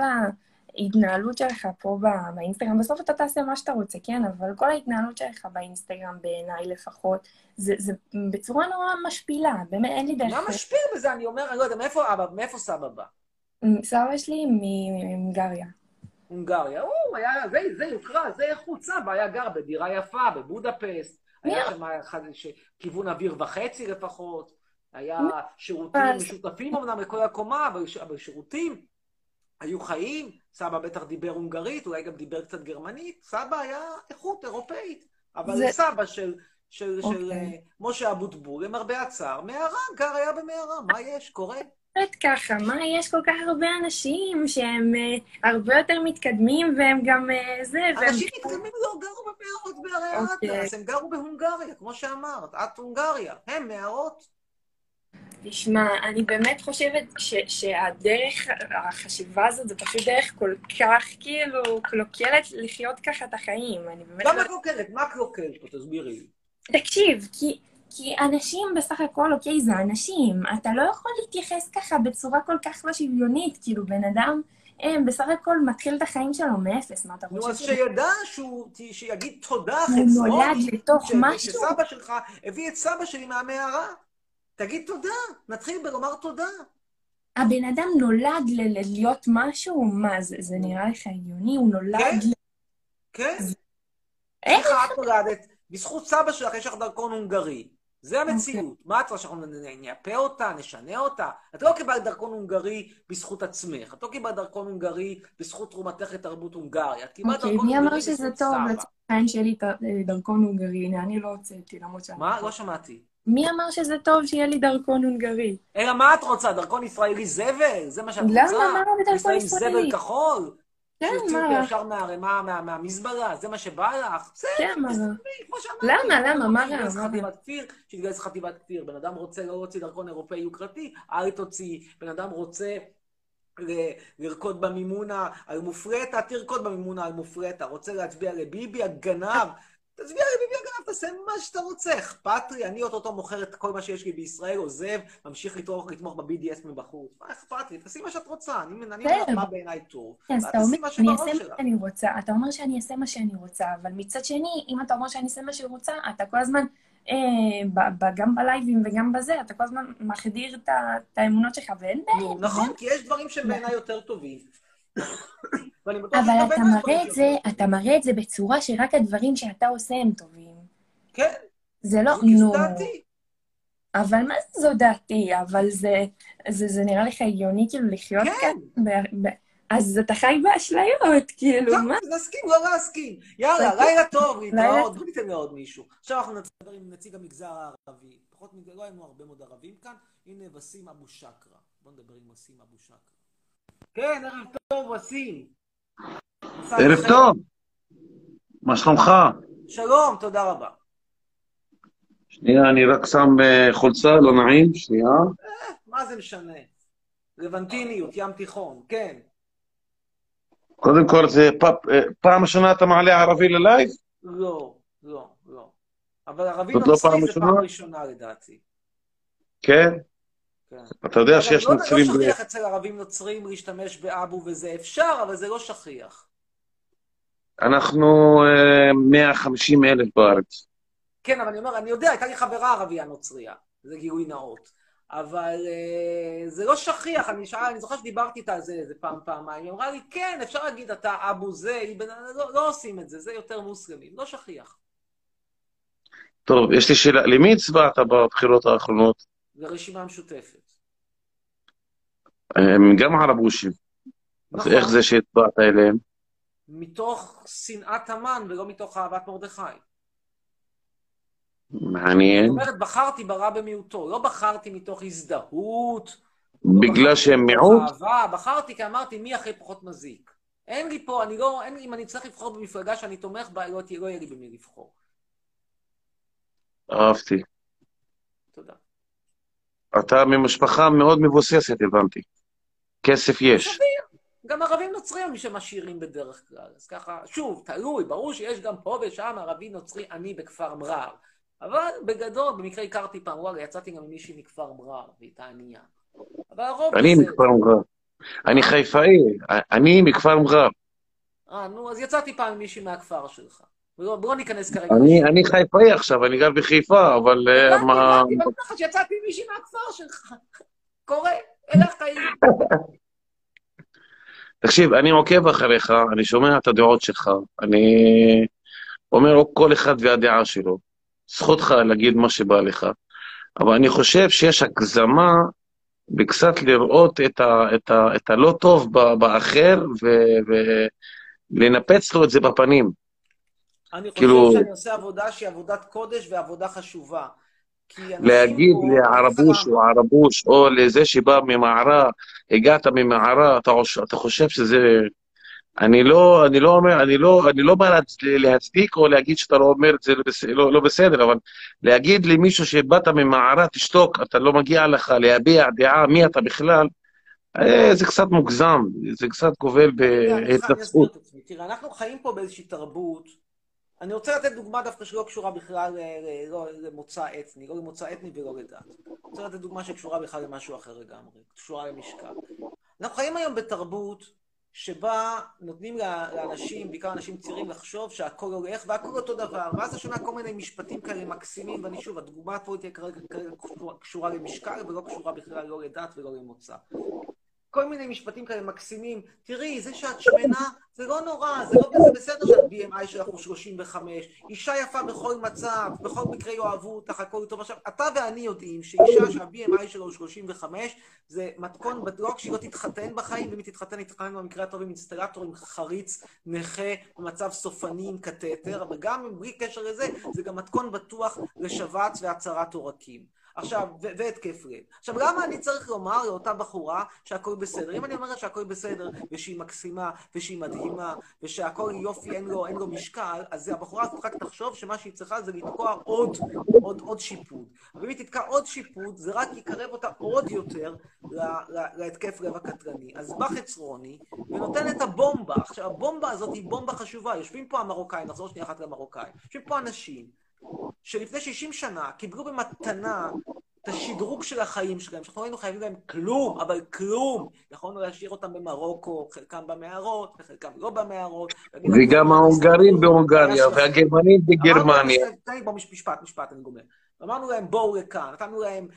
ההתנהלות שלך פה באינסטגרם, בסוף אתה תעשה מה שאתה רוצה, כן? אבל כל ההתנהלות שלך באינסטגרם, בעיניי לפחות, זה בצורה נורא משפילה, באמת אין לי דרך... מה משפיל בזה? אני אומר, אני לא יודע, מאיפה סבא בא? סבא שלי מהונגריה. הונגריה, זה יוקרה, זה איכות. סבא היה גר בדירה יפה, בבודפסט, היה שם כיוון אוויר וחצי לפחות, היה שירותים משותפים אמנם לכל הקומה, אבל שירותים היו חיים. סבא בטח דיבר הונגרית, אולי גם דיבר קצת גרמנית. סבא היה איכות אירופאית, אבל סבא של משה אבוטבול, למרבה הצער, מערה, היה במערה, מה יש? קורה? ככה, מה יש כל כך הרבה אנשים שהם הרבה יותר מתקדמים והם גם זה... אנשים מתקדמים לא גרו במערות בערי האטלס, הם גרו בהונגריה, כמו שאמרת, את הונגריה, הם מערות. תשמע, אני באמת חושבת שהדרך, החשיבה הזאת, זה פשוט דרך כל כך כאילו קלוקלת לחיות ככה את החיים. למה קלוקלת? מה קלוקלת? תסבירי לי. תקשיב, כי אנשים בסך הכל, אוקיי, זה אנשים. אתה לא יכול להתייחס ככה בצורה כל כך לא שוויונית, כאילו בן אדם בסך הכל מתחיל את החיים שלו מאפס, מה אתה חושב? נו, אז שידע שיגיד תודה חצרוני, הוא נולד לתוך משהו. שסבא שלך הביא את סבא שלי מהמערה. תגיד תודה, נתחיל בלומר תודה. הבן אדם נולד להיות משהו? מה, זה נראה לך הגיוני? הוא נולד... כן. איך את נולדת? בזכות סבא שלך יש לך דרכון הונגרי. זה המציאות. מה את רוצה שאנחנו נייפה אותה, נשנה אותה? את לא קיבלת דרכון הונגרי בזכות עצמך. את לא קיבלת דרכון הונגרי בזכות תרומתך לתרבות הונגריה. את קיבלת דרכון הונגרי בזכות סבא. מי אמר שזה טוב? לצורך שלי דרכון הונגרי. אני לא הוצאתי, למרות שאני... מה? לא שמעתי. מי אמר שזה טוב שיהיה לי דרכון הונגרי? אלא מה את רוצה? דרכון ישראלי זבל? זה מה שאת רוצה? למה? מה בדרכון ישראלי? זבל כחול? כן, מה? שיוציאו אותי ישר מהמזבלה? זה מה שבא לך? כן, מה? למה? מה רע? שהתגייס חטיבת כפיר. בן אדם רוצה לא להוציא דרכון אירופאי יוקרתי, אל תוציא. בן אדם רוצה לרקוד במימונה על מופרטה, תרקוד במימונה על מופרטה. רוצה להצביע לביבי הגנב, תצביע לביבי הגנב, תעשה מה שאתה רוצה. אכפת לי, אני אותו מוכר את כל מה שיש לי בישראל, עוזב, ממשיך לתמוך ב-BDS מבחוץ. מה אכפת לי? תעשי מה שאת רוצה. אני אומר מה בעיניי טוב. אתה אומר שאני אעשה מה שאני רוצה, אבל מצד שני, אם אתה אומר שאני אעשה מה שאני רוצה, אתה כל הזמן, גם בלייבים וגם בזה, אתה כל הזמן מחדיר את האמונות שלך, ואין בעיה. נכון, כי יש דברים שהם בעיניי יותר טובים. אבל אתה מראה את זה בצורה שרק הדברים שאתה עושה הם טובים. כן. זה לא, נו. אבל מה זו דעתי? אבל זה נראה לך הגיוני כאילו לחיות כאן? אז אתה חי באשליות, כאילו, מה? נסכים, לא להסכים. יאללה, לילה טוב, להתראות. בוא ניתן לעוד מישהו. עכשיו אנחנו נדבר עם נציג המגזר הערבי. פחות מדי, לא היינו הרבה מאוד ערבים כאן. הנה וסים אבו שקרה. בוא נדבר עם וסים אבו שקרה. כן, ערב טוב, וסים. מסע ערב אחר. טוב, מה שלומך? שלום, תודה רבה. שנייה, אני רק שם חולצה, לא נעים, שנייה. מה זה משנה? לבנטיניות, ים תיכון, כן. קודם כל, זה פעם ראשונה אתה מעלה ערבי ללייב? לא, לא, לא. אבל ערבי זאת לא נוצרי פעם זה ראשונה? פעם ראשונה לדעתי. כן? כן. אתה יודע אגב, שיש לא נוצרים... שכיח אצל ערבים נוצרים להשתמש באבו וזה אפשר, אבל זה לא שכיח. אנחנו 150,000 בארץ. כן, אבל אני אומר, אני יודע, הייתה לי חברה ערבייה נוצריה, זה גילוי נאות. אבל זה לא שכיח, אני זוכר שדיברתי איתה על זה איזה פעמיים, היא אמרה לי, כן, אפשר להגיד אתה אבו זה, לא עושים את זה, זה יותר מוסלמים, לא שכיח. טוב, יש לי שאלה, למי הצבעת בבחירות האחרונות? לרשימה המשותפת. הם גם ערבושים. אז נכון. איך זה שהצבעת אליהם? מתוך שנאת המן ולא מתוך אהבת מרדכי. מעניין. זאת אומרת, בחרתי ברע במיעוטו, לא בחרתי מתוך הזדהות, בגלל שהם מיעוט? אהבה, בחרתי כי אמרתי מי הכי פחות מזיק. אין לי פה, אם אני צריך לבחור במפלגה שאני תומך בה, לא יהיה לי במי לבחור. אהבתי. תודה. אתה ממשפחה מאוד מבוססת, הבנתי. כסף יש. סביר. גם ערבים נוצרים מי שמשאירים בדרך כלל. אז ככה, שוב, תלוי, ברור שיש גם פה ושם ערבי נוצרי עני בכפר מרר. אבל בגדול, במקרה הכרתי פעם, וואלה, יצאתי גם עם מישהי מכפר מרר, והייתה ענייה. אבל הרוב אני זה... מכפר מרר. אני חיפאי, אני מכפר מרר. נו, אז יצאתי פעם עם מישהי מהכפר שלך. בוא ניכנס כרגע. אני חיפאי עכשיו, אני גר בחיפה, אבל מה... הבנתי, בטח שיצאתי עם מישהי מהכפר שלך. קורה, אלה החיים. תקשיב, אני עוקב אחריך, אני שומע את הדעות שלך, אני אומר כל אחד והדעה שלו. זכותך להגיד מה שבא לך, אבל אני חושב שיש הגזמה בקצת לראות את הלא טוב באחר ולנפץ לו את זה בפנים. אני חושב שאני עושה עבודה שהיא עבודת קודש ועבודה חשובה. להגיד לערבוש או ערבוש או לזה שבא ממערה, הגעת ממערה, אתה חושב שזה... אני לא בא להצדיק או להגיד שאתה לא אומר את זה לא בסדר, אבל להגיד למישהו שבאת ממערה, תשתוק, אתה לא מגיע לך להביע דעה, מי אתה בכלל, זה קצת מוגזם, זה קצת גובל בהתנצחות. תראה, אנחנו חיים פה באיזושהי תרבות, אני רוצה לתת דוגמה דווקא שלא קשורה בכלל למוצא אתני, לא למוצא אתני ולא לדת. אני רוצה לתת דוגמה שקשורה בכלל למשהו אחר לגמרי, קשורה למשקל. אנחנו חיים היום בתרבות, שבה נותנים לאנשים, בעיקר אנשים צעירים, לחשוב שהכל הולך והכל אותו דבר, ואז אתה שומע כל מיני משפטים כאלה מקסימים, ואני שוב, הדוגמה פה תהיה כרגע קשורה למשקל, ולא קשורה בכלל לא לדת ולא למוצא. כל מיני משפטים כאלה מקסימים, תראי, זה שאת שמנה, זה לא נורא, זה בסדר שאת BMI שלך הוא 35, אישה יפה בכל מצב, בכל מקרה יאהבו אותך, הכל טוב. עכשיו, אתה ואני יודעים שאישה שה-BMI שלו הוא 35, זה מתכון בטוח שהיא לא תתחתן בחיים, ואם היא תתחתן במקרה הטוב עם אינסטלטור, עם חריץ, נכה, במצב סופני עם קטטר, אבל גם בלי קשר לזה, זה גם מתכון בטוח לשבץ והצהרת עורקים. עכשיו, והתקף לב. עכשיו, למה אני צריך לומר לאותה בחורה שהכל בסדר? אם אני אומרת שהכל בסדר, ושהיא מקסימה, ושהיא מדהימה, ושהכל יופי, אין לו משקל, אז הבחורה הזאת רק תחשוב שמה שהיא צריכה זה לתקוע עוד שיפוד. ואם היא תתקע עוד שיפוד, זה רק יקרב אותה עוד יותר להתקף לב הקטרני. אז בא חצרוני, ונותן את הבומבה. עכשיו, הבומבה הזאת היא בומבה חשובה. יושבים פה המרוקאים, נחזור שנייה אחת למרוקאים. יושבים פה אנשים, שלפני 60 שנה קיבלו במתנה את השדרוג של החיים שלהם, שאנחנו היינו חייבים להם כלום, אבל כלום. יכולנו להשאיר אותם במרוקו, חלקם במערות, וחלקם לא במערות. וגם ההונגרים בהונגריה, והגרמנים בגרמניה. תן לי בוא משפט, אני גומר. אמרנו להם בואו לכאן, נתנו להם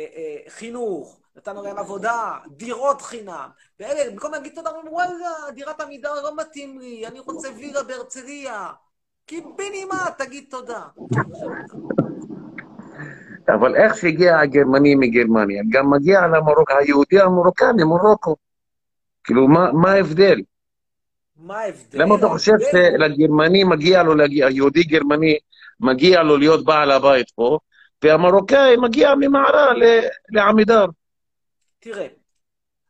חינוך, נתנו להם עבודה, דירות חינם. ואלה, במקום להגיד תודה, אומרים, וואלה, דירת עמידר לא מתאים לי, אני רוצה וילה בהרצליה. כי בנימה, תגיד תודה. אבל איך שהגיע הגרמני מגרמניה, גם מגיע היהודי המרוקאי ממרוקו. כאילו, מה ההבדל? מה ההבדל? למה אתה חושב שלגרמני מגיע לו, היהודי גרמני מגיע לו להיות בעל הבית פה, והמרוקאי מגיע ממערה לעמידר? תראה,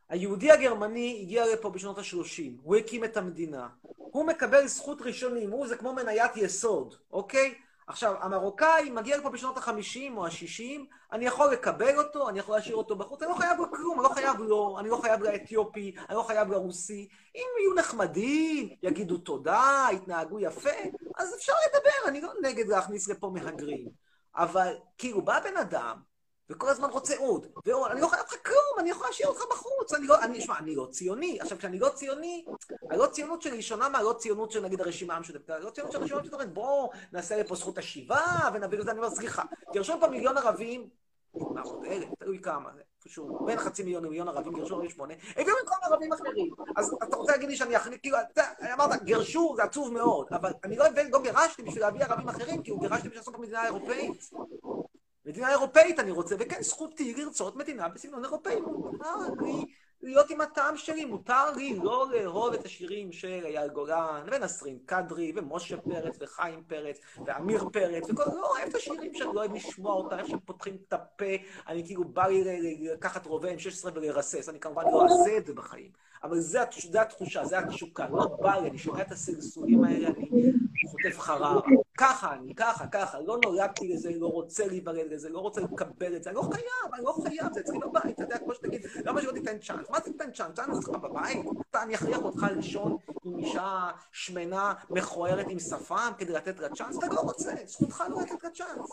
היהודי הגרמני הגיע לפה בשנות ה-30, הוא הקים את המדינה. הוא מקבל זכות ראשונים, זה כמו מניית יסוד, אוקיי? עכשיו, המרוקאי מגיע לפה בשנות ה-50 או ה-60, אני יכול לקבל אותו, אני יכול להשאיר אותו בחוץ, אני לא חייב לו כלום, אני לא חייב לו, אני לא חייב לאתיופי, אני לא חייב לרוסי. אם יהיו נחמדים, יגידו תודה, יתנהגו יפה, אז אפשר לדבר, אני לא נגד להכניס לפה מהגרים. אבל כאילו, בא בן אדם, וכל הזמן רוצה עוד, אני לא חייב לך כלום, אני יכול להשאיר אותך בחוץ, אני לא ציוני. עכשיו, כשאני לא ציוני, הלא ציונות שלי שונה מהלא ציונות של נגיד הרשימה המשותפת, הלא ציונות של הרשימה המשותפת, בואו נעשה לפה זכות השיבה, ונביא לזה, אני אומר, סליחה, גירשו פה מיליון ערבים, 100,000, תלוי כמה, פשוט, בין 500,000 למיליון ערבים, גירשו 48, הביאו במקום ערבים אחרים, אז אתה רוצה להגיד לי שאני אחליט, כאילו, אמרת, גירשו, זה עצוב מאוד, אבל אני לא גירשתי בשביל להביא ערבים אחרים, כי הוא גירשתי בשביל לעשות פה מדינה אירופאית. מדינה אירופאית אני רוצה, וכן, זכותי לרצות מדינה בסגנון אירופאי. מותר לי להיות עם הטעם שלי, מותר לי לא לאהוב את השירים של אייל גולן, ונסרין קדרי, ומשה פרץ, וחיים פרץ, ואמיר פרץ, וכל, לא אוהב את השירים שאני לא אוהב לשמוע אותם, איך שהם פותחים את הפה, אני כאילו בא לי לקחת רובה M16 ולרסס, אני כמובן לא אעשה את זה בחיים. אבל זה התחושה, זה התשוקה, לא בא לי, אני שומע את הסלסולים האלה, אני חוטף חררה. ככה, לא נולדתי לזה, לא רוצה להיוולד לזה, לא רוצה לקבל את זה, אני לא חייב, זה אצלי בבית, אתה יודע, כמו שתגיד, למה שלא תיתן צ'אנס? מה זה תיתן צ'אנס? צ'אנס אצלך בבית? אני אכריח אותך לישון עם אישה שמנה, מכוערת עם שפם, כדי לתת לה צ'אנס? אתה לא רוצה, זכותך לא לתת לה צ'אנס.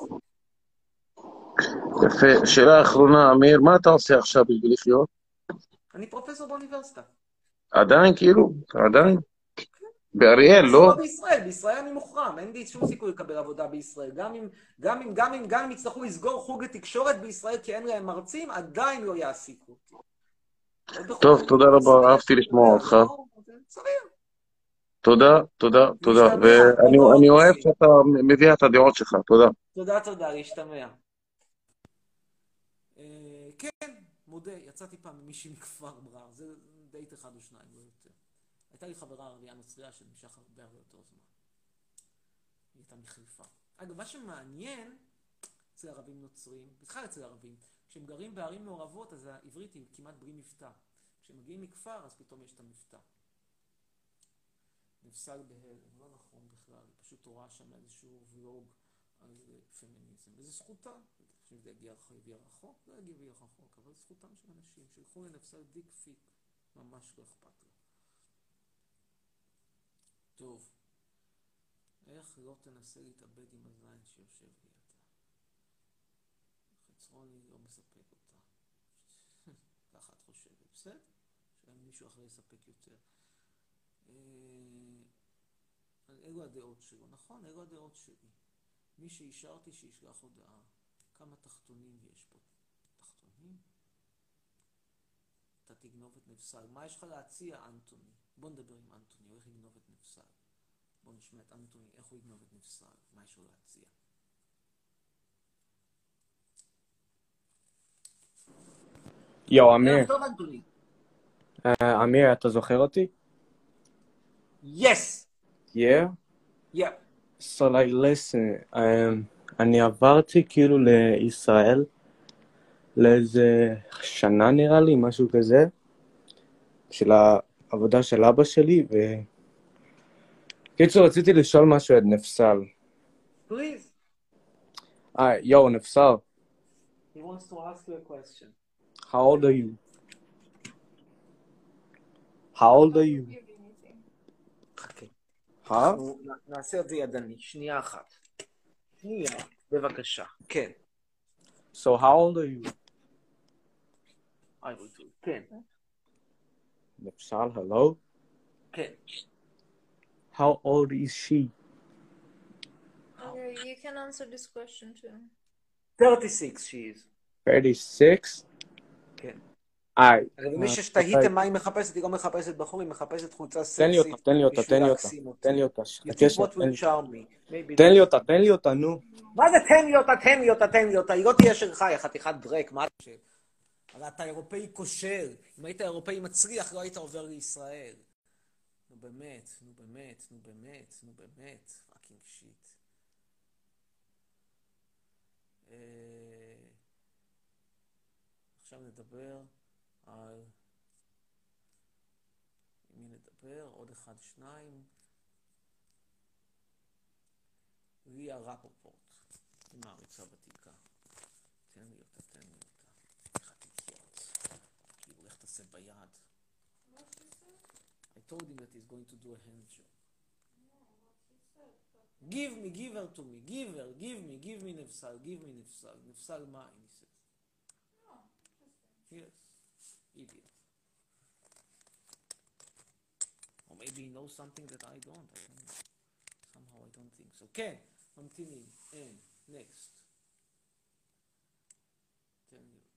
יפה. שאלה אחרונה, אמיר, מה אתה עושה עכשיו בשביל לחיות? אני פרופסור באוניברסיטה. עדיין, כאילו? עדיין? באריאל, לא? בישראל אני מוחרם, אין לי שום סיכוי לקבל עבודה בישראל. גם אם יצטרכו לסגור חוג לתקשורת בישראל כי אין להם מרצים, עדיין לא יעסיקו אותי. טוב, תודה רבה, אהבתי לשמוע אותך. תודה. ואני אוהב שאתה מביא את הדעות שלך, תודה. תודה, להשתמע. כן, מודה, יצאתי פעם ממישהי מכפר מרר, זה דייט אחד או שניים, לא יותר. הייתה לי חברה ערבייה נוצריה שנמשך הרבה יותר זמן. היא הייתה מחיפה. אגב, מה שמעניין אצל ערבים נוצרים, בכלל אצל ערבים, כשהם גרים בערים מעורבות, אז העברית היא כמעט בלי מבטא. כשהם מגיעים מכפר, אז פתאום יש את המבטא. נפסל בהלם, לא נכון בכלל, היא פשוט רואה שם איזשהו ולוג על פמיניזם, וזה זכותה. אם זה יגיע רחוק, לא יגיע רחוק, אבל זכותם של אנשים, שילכו לנפסל דיק פיק, ממש לא אכפת לה. טוב, איך לא תנסה להתאבד עם הזין שיושב לידה? חצרוני לא מספק אותה. ככה את חושבת, בסדר? שאין מישהו אחר יספק יותר. אלו הדעות שלו, נכון? אלו הדעות שלי. מי שאישרתי שישלח הודעה. כמה תחתונים יש פה? תחתונים? אתה תגנוב את נפסל. מה יש לך להציע, אנטוני? בוא נדבר עם אנטוני, הוא איך יגנוב את נפסל. בוא נשמע את אנטוני, איך הוא יגנוב את נפסל. מה יש לו להציע? יו, אמיר. טוב, אנטוני. אמיר, אתה זוכר אותי? Yes! Yeah? Yeah. So like, listen, אני עברתי כאילו לישראל לאיזה שנה נראה לי, משהו כזה, של העבודה של אבא שלי, קיצור, רציתי לשאול משהו את נפסל. Please. Yo, נפסל. He wants to ask you a question. How old are you? How old are you? חכה. Huh? נעשה את זה ידני, שנייה אחת. שנייה, בבקשה. כן. So how old are you? I will do. כן. נפסל, hello? כן. How old is she? Okay, you can answer this question too. 36 she is. 36? כן. אגב, מי שתהיתם מה היא מחפשת, היא לא מחפשת בחור, היא מחפשת חולצה סקסית. תן לי אותה. תן לי אותה, נו. מה זה תן לי אותה? היא לא תהיה שלך, היא חתיכת דרק, מה אתה חושב? הרי אתה אירופאי כושל, אם היית אירופאי מצליח, לא היית עובר לישראל. נו באמת, פאקינג שיט. עכשיו נדבר על עם מי נדבר? עוד אחד, שניים. ליה רפופורט, היא מעריצה ותיקה. תן לי אותה. איך את כאילו, איך תעשה ביד? I told him that he's going to do a hand job. Give her to me. Give me נפסל. נפסל מה? He says. Yes. Idiot. Or maybe he knows something that I don't. I don't know. Somehow I don't think so. כן, ממתינים. And next. תן לי אותה.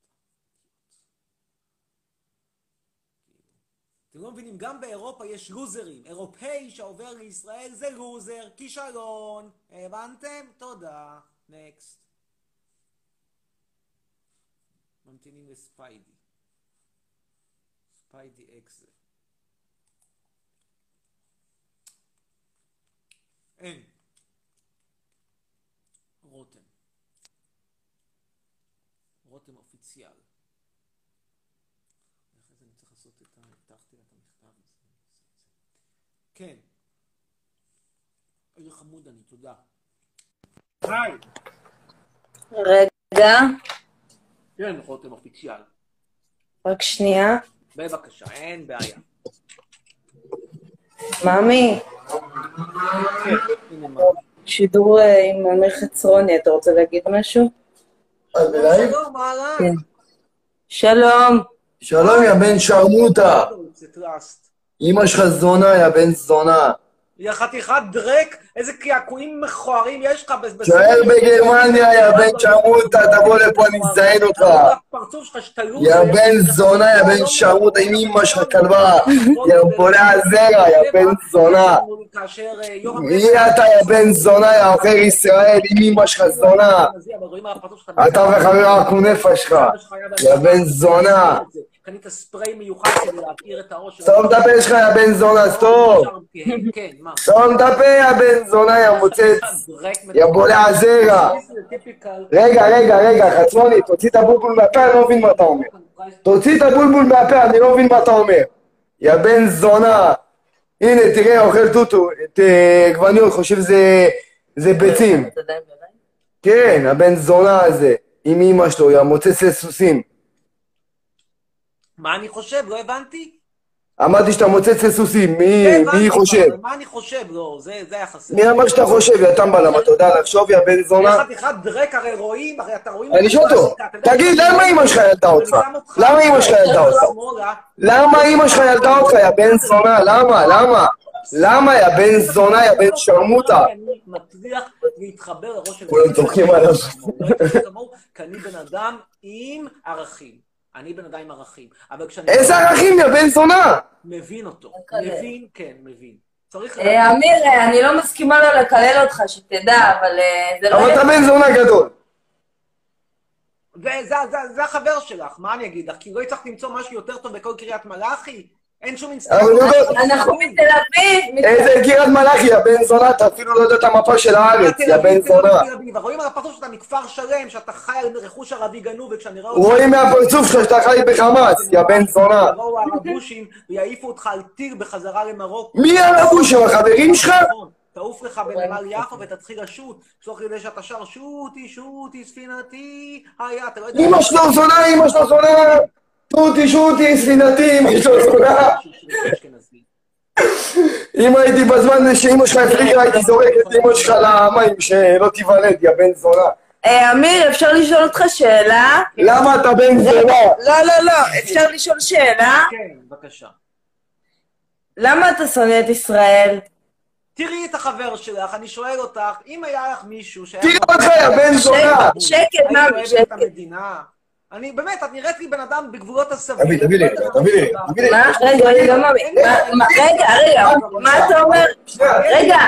אתם לא מבינים, גם באירופה יש לוזרים. אירופאי שעובר לישראל זה לוזר, כישלון. הבנתם? תודה. נקסט. ממתינים לספיידי. ספיידי אקסל. אין. רותם. רותם אופיציאל. אחרי זה אני צריך לעשות את הבטחתי לה את המכתב הזה. כן. איזה חמוד אני, תודה. היי. רגע. כן, רותם אופיציאל. רק שנייה. בבקשה, אין בעיה. מאמי. כן, הנה מה. שידור עם אמיר חצרוני, אתה רוצה להגיד משהו? שלום, אהלן. כן. שלום. שלום, יא בן שרמוטה. אמא שלך זונה, יא בן זונה. יא חתיכת דרק, איזה קעקועים מכוערים יש לך. שוער בגרמניה, יא בן שרמוטה, תבוא לפה, אני מזיין אותך. יא בן זונה, יא בן שרמוטה, עם אמא שלך כלבה. יא בולע זרע, יא בן זונה. מי אתה, יא בן זונה, יא עוכר ישראל, עם אמא שלך זונה. אתה וחבר הכונפה שלך, יא בן זונה. קנית ספרי מיוחד כדי להכיר את הראש. סתום את הפה שלך, יא בן זונה, סתום. סתום את הפה, יא בן זונה, יא מוצץ. יא בולע זרע. רגע, חצרוני, תוציא את הבולבול מהפה, אני לא מבין מה אתה אומר. תוציא את הבולבול מהפה, אני לא מבין מה אתה אומר. יא בן זונה. הנה, תראה, אוכל טוטו, את גווניות, חושב זה ביצים. כן, הבן זונה הזה, עם אמא שלו, יא מוצץ לסוסים. מה אני חושב? לא הבנתי? אמרתי שאתה מוצץ לסוסים, מי חושב? מה אני חושב? לא, זה היה חסר. מי אמר שאתה חושב, יא טמבלם, אתה יודע לחשוב, יא בן זונה? איך חתיכת דרק, הרי רואים, הרי אתה רואים... אני שואל אותו, תגיד, למה אמא שלך ילדה אותך? למה אמא שלך ילדה אותך? למה אמא שלך ילדה אותך, יא בן זונה? למה? למה, יא בן זונה, יא בן שרמוטה? אני מצליח להתחבר לראש של... כולם צוחקים עליו. כי אני בן אדם עם ערכים. אני בן אדם עם ערכים. איזה ערכים, יא בן זונה? מבין אותו. מבין. אמיר, אני לא מסכימה לו לקלל אותך, שתדע, אבל זה לא... אבל אתה בן זונה גדול. זה החבר שלך, מה אני אגיד לך? כי לא הצלחתי למצוא משהו יותר טוב בכל קריית מלאכי? אין שום אנחנו מתל אביב. איזה קריית מלאכי, יא בן זונה, אתה אפילו לא יודע את המפה של הארץ, יא בן זונה. רואים על הפרצוף שאתה מכפר שלם, שאתה חי על רכוש ערבי גנוב, וכשאני רואה... רואים מהפרצוף שלך שאתה חי בחמאס, יא בן זונה. יבואו הערבושים ויעיפו אותך על טיל בחזרה למרוקו. מי הערבושים, החברים שלך? תעוף לך בנמל יפו ותתחיל לשוט, תוך כדי שאתה שר שוטי, ספינתי, אתה לא יודע... אמא שלו זונה, שוטי, ספינתי, אמא שלו זונה. אם הייתי בזמן שאמא שלך הפליגה, הייתי זורק את אמא שלך למים, שלא תיוולד, יא בן זונה. אמיר, אפשר לשאול אותך שאלה? למה אתה בן זונה? לא, אפשר לשאול שאלה? כן, בבקשה. למה אתה שונא את ישראל? תראי את החבר שלך, אני שואל אותך, אם היה לך מישהו שהיה... תראי אותך, יא בן זונה! שקט, מאמי, שקט. אני באמת, את נראית לי בן אדם בגבולות הסביר. תביא לי. מה? רגע, מאמי. רגע, מה אתה אומר? רגע.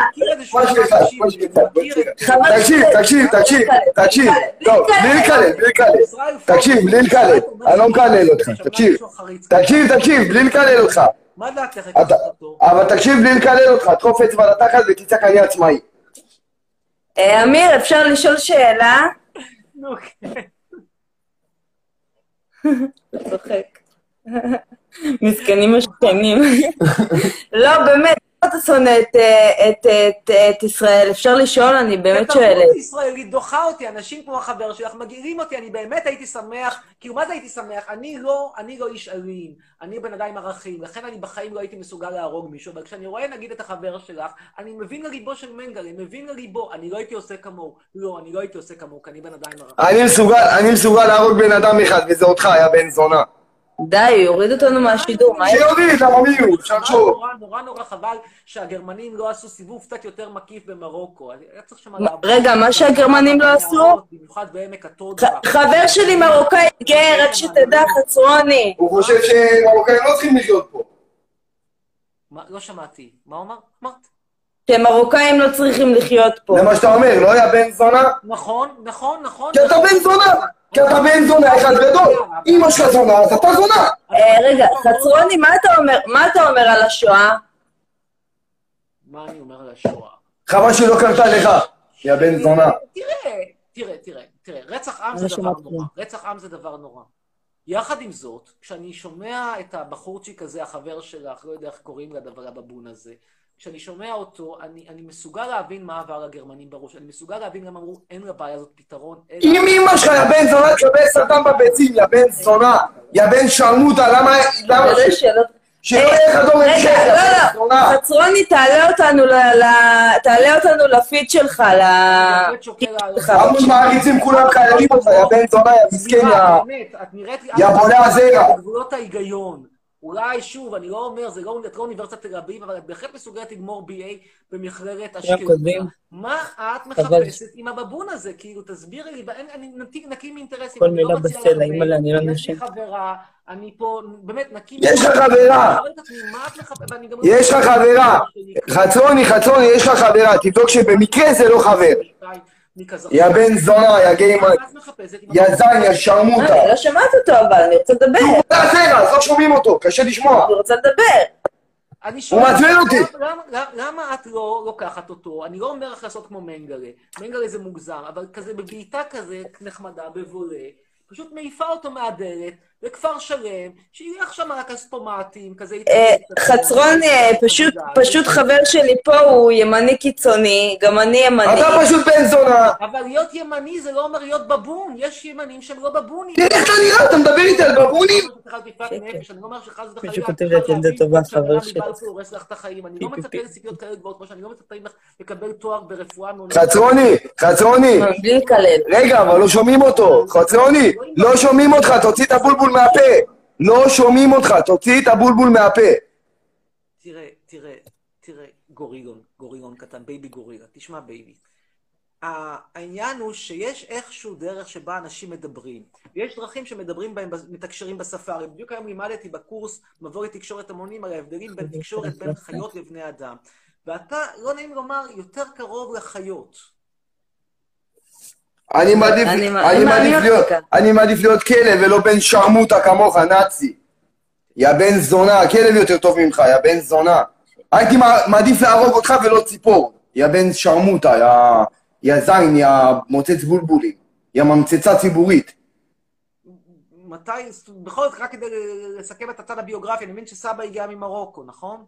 תקשיב. טוב, בלי לקלל. תקשיב, בלי לקלל. אני לא מקלל אותך, תקשיב, בלי לקלל אותך. מה דעתך? אבל תקשיב, בלי לקלל אותך, תחוף אצבע לתחת ותצעק אני עצמאי. אמיר, אפשר לשאול שאלה? נו, כן. צוחק. מסכנים השכנים. לא, באמת, אתה שונא את ישראל? אפשר לשאול, אני באמת שואלת. התרבות הישראלית דוחה אותי, אנשים כמו החבר שלך מגעילים אותי, אני באמת הייתי שמח, כאילו מה זה הייתי שמח? אני לא איש אלים, אני בן אדם עם ערכים, לכן אני בחיים לא הייתי מסוגל להרוג מישהו, אבל כשאני רואה נגיד את החבר שלך, אני מבין לליבו של מנגלה, מבין לליבו, אני לא הייתי עושה כמוהו, לא, אני לא הייתי עושה כמוהו, כי אני בן אדם עם ערכים. אני מסוגל להרוג בן אדם אחד, וזה אותך, יא בן זונה. די, יוריד אותנו מהשידור, מה יש? שיוריד, למה מי הוא? אפשר לחשוב. נורא חבל שהגרמנים לא עשו סיבוב קצת יותר מקיף במרוקו. רגע, מה שהגרמנים לא עשו? במיוחד בעמק הטודה. חבר שלי מרוקאי גר, רק שתדע, חצרוני. הוא חושב שמרוקאים לא צריכים לחיות פה. לא שמעתי. מה הוא אמר? אמרת? שמרוקאים לא צריכים לחיות פה. זה מה שאתה אומר, לא יא בן זונה? נכון. כי אתה בן זונה! כי אתה בן זונה אחד גדול. אמא שלך זונה, אז אתה זונה. רגע, חצרוני, מה אתה אומר על השואה? מה אני אומר על השואה? חבל שלא קרתה לך, יא בן זונה. תראה, רצח עם זה דבר נורא. רצח עם זה דבר נורא. יחד עם זאת, כשאני שומע את הבחורצ'יק הזה, החבר שלך, לא יודע איך קוראים לדבר הבבון הזה, כשאני שומע אותו, אני מסוגל להבין מה עבר לגרמנים בראש, אני מסוגל להבין למה אמרו, אין לבעיה הזאת פתרון. אם אמא שלך, יא בן זונה, תקבל סרטן בביצים, יא בן זונה, יא בן שרמוטה, למה שלא יהיה לך דור המשך, יא בן זונה. חצרוני, תעלה אותנו לפיד שלך, אנחנו מעריצים כולם חיילים אותך, יא בן זונה, יא מסכן, יא בולע הזרע. בגבולות ההיגיון. אולי שוב, אני לא אומר, זה לא אוניברסיטת תל אביב, אבל את בהחלט מסוגלת לגמור BA במכללת אשקלון. מה את מחפשת עם הבבון הזה? כאילו, תסבירי לי, אני נקי מאינטרסים. כל מילה בסלע, אימא'לה, אני לא נשם. יש לי חברה, אני פה, באמת, נקי... יש לך חברה! יש לך חברה! חצרוני, יש לך חברה, תבדוק שבמקרה זה לא חבר. יא בן זונה, יא גיימן, יא זין, יא שרמוטה. אני לא שמעת אותו, אבל אני רוצה לדבר. אז לא שומעים אותו, קשה לשמוע. אני רוצה לדבר. הוא מעצבן אותי. למה את לא לוקחת אותו? אני לא אומר לך לעשות כמו מנגלה. מנגלה זה מוגזם, אבל כזה בבעיטה כזה נחמדה, בבולה, פשוט מעיפה אותו מהדלת, לכפר שלם, שילך שם על הכספומטים, כזה... חצרון, פשוט חבר שלי פה הוא ימני קיצוני, גם אני ימני. אתה פשוט בן זונה. אבל להיות ימני זה לא אומר להיות בבון, יש ימנים שהם לא בבונים. תראה איך אתה נראה, אתה מדבר איתי על בבונים? אני לא אומר שחס וחלילה... מישהו כותב לי את ילדה טובה, חבר שלי. אני לא מצפה לציפיות כאלה גבוהות, כמו שאני לא מצפה לקבל תואר ברפואה... חצרוני, רגע, אבל לא שומעים אותו. חצרוני, לא שומעים אותך, תוציא את הבולבול מהפה. לא שומעים אותך, תוציא את הבולבול מהפה. תראה, גורילון קטן, בייבי גורילה, תשמע בייבי. העניין הוא שיש איכשהו דרך שבה אנשים מדברים. ויש דרכים שמדברים בהם, מתקשרים בשפה. בדיוק היום לימדתי בקורס מבוא לתקשורת המונים על ההבדלים בין תקשורת בין חיות לבני אדם. ואתה, לא נעים לומר, יותר קרוב לחיות. אני מעדיף להיות כלב ולא בן שרמוטה כמוך, נאצי. יא בן זונה, כלב יותר טוב ממך, יא בן זונה. הייתי מעדיף להרוג אותך ולא ציפור. יא בן שרמוטה, יא זין, יא מוצץ בולבולים. יא ממצצה ציבורית. מתי, בכל זאת, רק כדי לסכם את הצד הביוגרפי, אני מבין שסבא הגיע ממרוקו, נכון?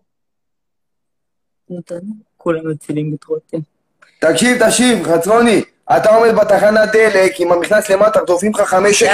כולם מצילים את רותם. תקשיב, חצרוני. אתה עומד בתחנת דלק, עם המכנס למטה, תופעים לך 5 שקל.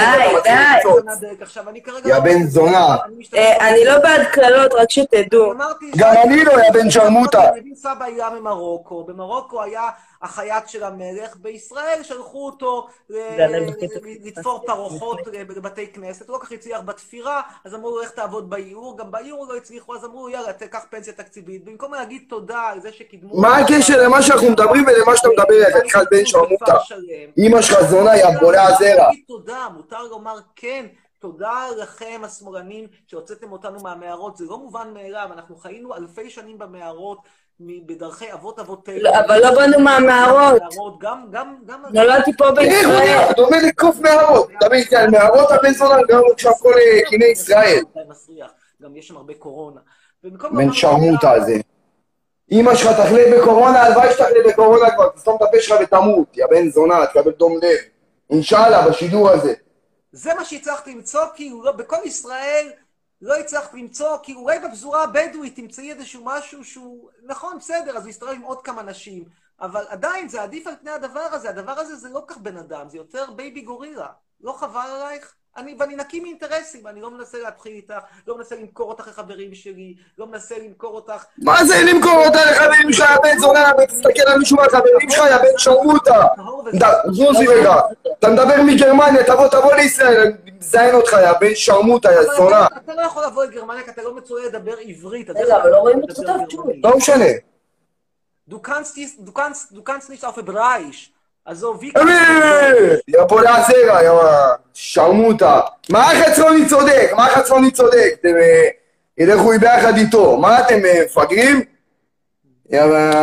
די. יא בן זונה. אני לא בעד קללות, רק שתדעו. גם אני לא, יא בן שרמוטה. סבא היה ממרוקו, במרוקו היה החייט של המלך, בישראל שלחו אותו לתפור פרוחות בבתי כנסת, הוא לא כך הצליח בתפירה, אז אמרו לו איך תעבוד באיור, גם באיור לא הצליחו, אז אמרו יאללה, תקח פנסיה תקציבית, במקום להגיד תודה על זה שקידמו... מה הקשר למה שאנחנו מדברים ולמה שאתה מדבר, יא חתיכת בן שרמוטה? אמא שלך זונה, יא בולע הזרע. מותר לומר כן, תודה לכם השמאלנים שהוצאתם אותנו מהמערות, זה לא מובן מאליו, אנחנו חיינו אלפי שנים במערות, בדרכי אבות אבותינו. אבל לא באנו מהמערות. נולדתי פה בישראל. אתה אומר לקוף מערות. אתה אומר על מערות הבן זונה, גם עכשיו כל קיני ישראל. גם יש שם הרבה קורונה. בן שרמוטה הזה. אמא שלך תחלה בקורונה, הלוואי שתחלה בקורונה כבר, תסתום את הפה שלך ותמות. יא בן זונה, תקבל דום לב. אינשאללה, בשידור הזה. זה מה שהצלחתי למצוא, כי בכל ישראל לא הצלחת למצוא, כי אולי בפזורה הבדואית תמצאי איזשהו משהו שהוא, נכון, בסדר, אז הוא יסתובב עם עוד כמה נשים, אבל עדיין זה עדיף על פני הדבר הזה, הדבר הזה זה לא כך בן אדם, זה יותר בייבי גורילה. לא חבל עלייך? ואני נקי מאינטרסים, אני לא מנסה להתחיל איתך, לא מנסה למכור אותך לחברים שלי, לא מנסה למכור אותך... מה זה למכור אותה לחברים שלך, יא בן זונה, תסתכל על מישהו מהחברים שלך, יא בן שרמוטה. זוזי רגע, אתה מדבר מגרמניה, תבוא לישראל, אני מזיין אותך, יא בן שרמוטה, יא זונה. אתה לא יכול לבוא לגרמניה, כי אתה לא מצויה לדבר עברית. רגע, אבל לא רואים אותך טוב שוב. לא משנה. Du kannst nicht auf Hebräisch. Also, wie יא פולה זרע, יא שרמוטה. מה החצרוני צודק? מה החצרוני צודק? אתם ילכו ביחד איתו. מה אתם מפגרים? יא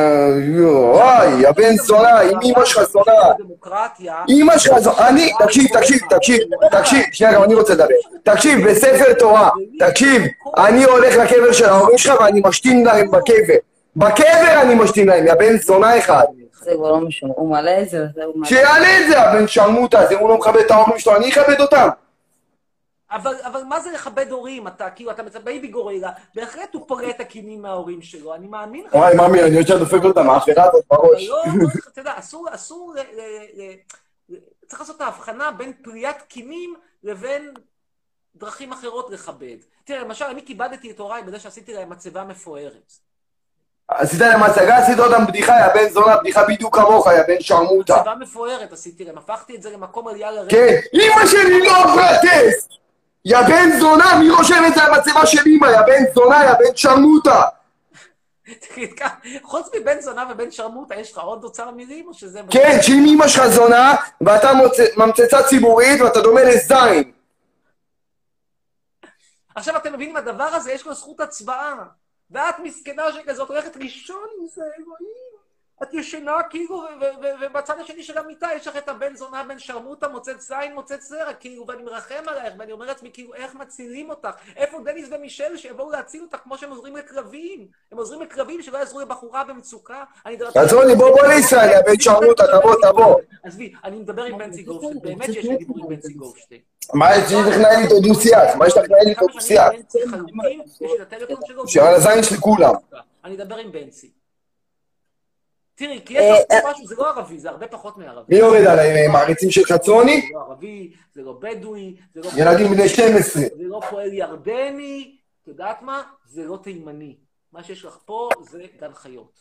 בן זונה, עם אמא שלך זונה. אמא שלך זונה. אני, תקשיב, שנייה, גם אני רוצה לדבר. תקשיב, בספר תורה, תקשיב, אני הולך לקבר של ההורים שלך ואני משתין להם בקבר. בקבר אני משתין להם, יא בן זונה אחד. זה כבר לא משנה, הוא מעלה את זה, הוא מעלה. שיעלה את זה, הבן שרמוטה, זה הוא לא מכבד את ההורים שלו, אני אכבד אותם. אבל מה זה לכבד הורים? אתה כאילו, אתה מצא בייבי גורילה, בהחלט הוא פורט הקינים מההורים שלו, אני מאמין לך. וואי, מאמי, אני רוצה לדופק אותם, האחרה הזאת בראש. אתה יודע, אסור, צריך לעשות את ההבחנה בין פריית קינים לבין דרכים אחרות לכבד. תראה, למשל, אני כיבדתי את הוריי בזה שעשיתי להם מצבה מפוארת. עשית להם הצגה, עשית אותם בדיחה, יא בן זונה, בדיחה בדיוק כמוך, יא בן שרמוטה. מצבה מפוארת עשיתי להם, הפכתי את זה למקום עלייה לרגע. כן, אמא שלי לא פרטס! יא בן זונה, מי רושם את זה על מצבה של אמא, יא בן זונה, יא בן שרמוטה. חוץ מבן זונה ובן שרמוטה, יש לך עוד אוצר מילים או שזה... כן, שאם אמא שלך זונה, ואתה ממצצה ציבורית, ואתה דומה לזין. עכשיו אתם מבינים, הדבר הזה יש לו זכות הצבעה. ואת מסכנה שכזאת הולכת לישון עם זה, אלוהים. את ישנה כאילו, ובצד השני של המיטה יש לך את הבן זונה, בן שרמוטה, מוצץ זין, מוצץ זרע, כאילו, ואני מרחם עלייך, ואני אומר לעצמי, כאילו, איך מצילים אותך? איפה דניס ומישל שיבואו להציל אותך כמו שהם עוזרים לקרבים? הם עוזרים לקרבים שלא יעזרו לבחורה במצוקה? עצרוני, בוא לישראל, יא בן שרמוטה, תבוא. עזבי, אני מדבר עם בנצי גופשטיין, באמת שיש לי דיבור עם בנצי גופשטיין. מה יש לך לנהל איתו דו-שיח? מה יש לך לנהל איתו דו-שיח? שעל הזין שלי כולם. אני אדבר עם בנצי. תראי, כי יש לך משהו, זה לא ערבי, זה הרבה פחות מערבי. מי יורד עליי, מעריצים של חצרוני? זה לא ערבי, זה לא בדואי, זה לא... ילדים בני 12. זה לא פועל ירדני, את יודעת מה? זה לא תימני. מה שיש לך פה זה גן חיות.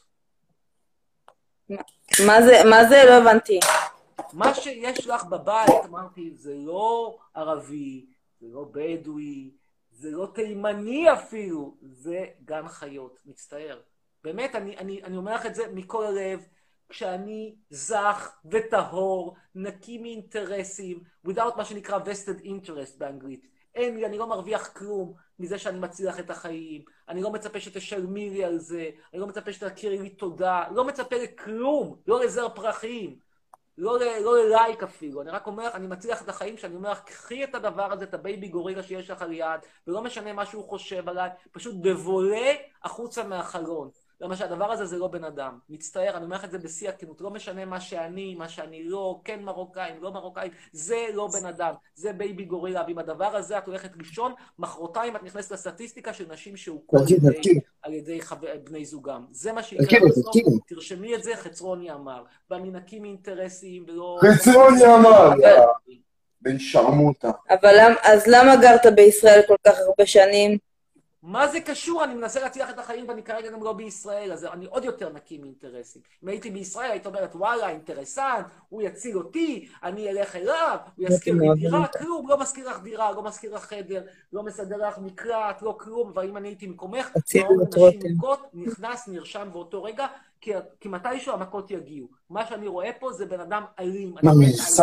מה זה? לא הבנתי. מה שיש לך בבית, אמרתי, זה לא ערבי, זה לא בדואי, זה לא תימני אפילו, זה גן חיות, מצטער. באמת, אני אומר לך את זה מכל הלב, כשאני זך וטהור, נקי מאינטרסים, without מה שנקרא vested interest באנגלית. אין לי, אני לא מרוויח כלום מזה שאני מצליח את החיים, אני לא מצפה שתשלמי לי על זה, אני לא מצפה שתכירי לי תודה, לא מצפה לכלום, לא לזר פרחים. לא ללייק אפילו, אני רק אומר, אני מצליח את החיים שאני אומר, קחי את הדבר הזה, את הבייבי גורילה שיש לך על יד, ולא משנה מה שהוא חושב עליי, פשוט בבולה החוצה מהחלון. למה שהדבר הזה זה לא בן אדם. מצטער, אני אומר לך את זה בשיא הכנות, לא משנה מה שאני לא, כן מרוקאים, לא מרוקאים, זה לא בן אדם, זה בייבי גורילה, ועם הדבר הזה את הולכת לישון, מחרתיים את נכנסת לסטטיסטיקה של נשים שהוכו על ידי בני זוגם. זה מה שיקרה בסוף, תרשמי את זה, חצרוני אמר, ואני נקי מאינטרסים ולא... חצרוני אמר, בן שרמוטה. אבל אז למה גרת בישראל כל כך הרבה שנים? מה זה קשור? אני מנסה להצליח את החיים ואני כרגע גם לא בישראל, אז אני עוד יותר נקי מאינטרסים. אם הייתי בישראל, היית אומרת, וואלה, אינטרסנט, הוא יציל אותי, אני אלך אליו, הוא יזכיר לי דירה, כלום, לא מזכיר לך דירה, לא מזכיר לך חדר, לא מסדר לך מקלט, לא כלום, אבל אם אני הייתי מקומך, נשים מכות, נכנס, נרשם באותו רגע, כי מתישהו המכות יגיעו. מה שאני רואה פה זה בן אדם אלים. אני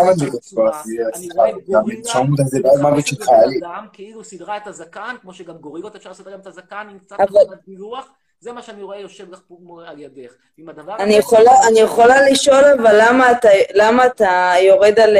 רואה גורילה, כאילו סדרה את הזקן, כמו שגם גורילות אפשר לסדר גם את הזקן, עם קצת גילוח, זה מה שאני רואה יושב לך פה על ידך. אני יכולה לשאול, אבל למה אתה יורד על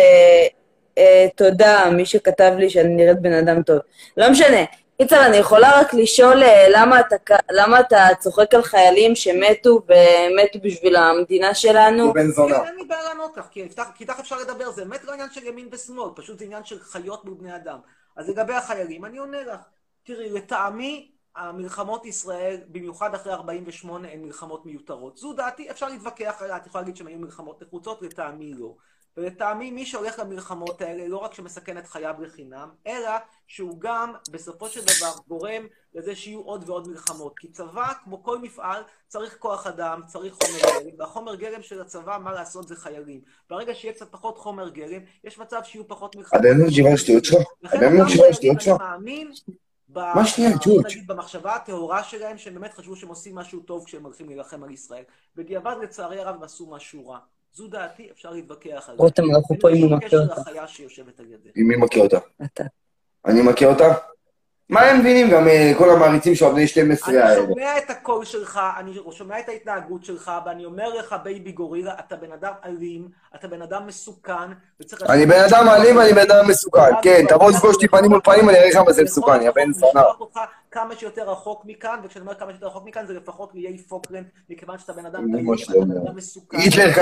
תודה, מי שכתב לי שאני נראית בן אדם טוב. לא משנה. קיצר, אני יכולה רק לשאול למה אתה צוחק על חיילים שמתו ומתו בשביל המדינה שלנו? בן זונה. אין לי בעיה לענות לך, כי איתך אפשר לדבר, זה באמת לא עניין של ימין ושמאל, פשוט זה עניין של חיות מול בני אדם. אז לגבי החיילים, אני עונה לך. תראי, לטעמי, המלחמות ישראל, במיוחד אחרי 48, הן מלחמות מיותרות. זו דעתי, אפשר להתווכח עליה, את יכולה להגיד שהן היו מלחמות נחוצות, לטעמי לא. ולטעמי, מי שהולך למלחמות האלה, לא רק שמסכן את חייו לחינם, אלא שהוא גם, בסופו של דבר, גורם לזה שיהיו עוד ועוד מלחמות. כי צבא, כמו כל מפעל, צריך כוח אדם, צריך חומר גלם, והחומר גלם של הצבא, מה לעשות, זה חיילים. ברגע שיהיה קצת פחות חומר גלם, יש מצב שיהיו פחות מלחמות. לכן אותם חיילים, אני מאמין, נגיד במחשבה הטהורה שלהם, שהם באמת חשבו שהם עושים משהו טוב כשהם הולכים להילחם על ישראל. בדיעבד, לצערי הרב, הם עשו משהו רע. זו דעתי, אפשר להתווכח עליה. רותם, אנחנו פה אם הוא מכיר אותה. לחיה שיושבת על ידך. עם מי מכיר אותה? אתה. אני מכיר אותה? מה הם מבינים? גם כל המעריצים של בני 12 האלה. אני שומע את הקול שלך, אני שומע את ההתנהגות שלך, ואני אומר לך, בייבי גורילה, אתה בן אדם אלים, אתה בן אדם מסוכן, אני בן אדם אלים ואני בן אדם מסוכן, כן, תבוא לפגוש אותי פנים מול פנים, אני אראה לך מה זה מסוכן, יא בן זונה. כמה שיותר רחוק מכאן, וכשאני אומר כמה שיותר רחוק מכאן, זה לפחות לאיי פוקלנד, מכיוון שאתה בן אדם מסוכן.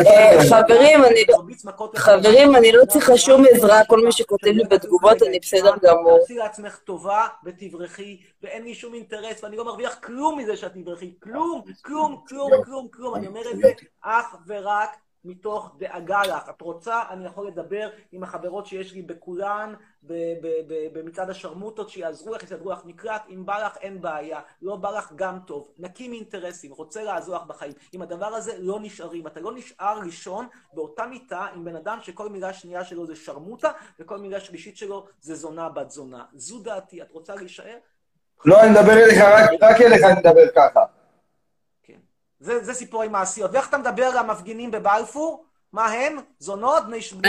חברים, אני לא צריכה שום עזרה, כל מי שכותב לי בתגובות, אני בסדר גמור. תעשי לעצמך טובה ותברכי, ואין לי שום אינטרס, ואני לא מרוויח כלום מזה שאת תברכי, כלום, כלום, כלום, כלום, כלום. אני אומר את זה אך ורק מתוך דאגה לך. את רוצה, אני יכול לדבר עם החברות שיש לי בכולן, במצעד השרמוטות, שיעזרו לך, יסדרו לך מקלט, אם בא לך אין בעיה, לא בא לך גם טוב, נקים אינטרסים, רוצה לעזור לך בחיים. אם הדבר הזה לא נשארים, אתה לא נשאר ראשון באותה מיטה עם בן אדם שכל מילה שנייה שלו זה שרמוטה, וכל מילה שלישית שלו זה זונה בת זונה. זו דעתי, את רוצה להישאר? לא, אני מדבר אליך, רק אליך אני מדבר ככה. זה סיפורי מעשיות. ואיך אתה מדבר למפגינים בבלפור? מה הם? זונות?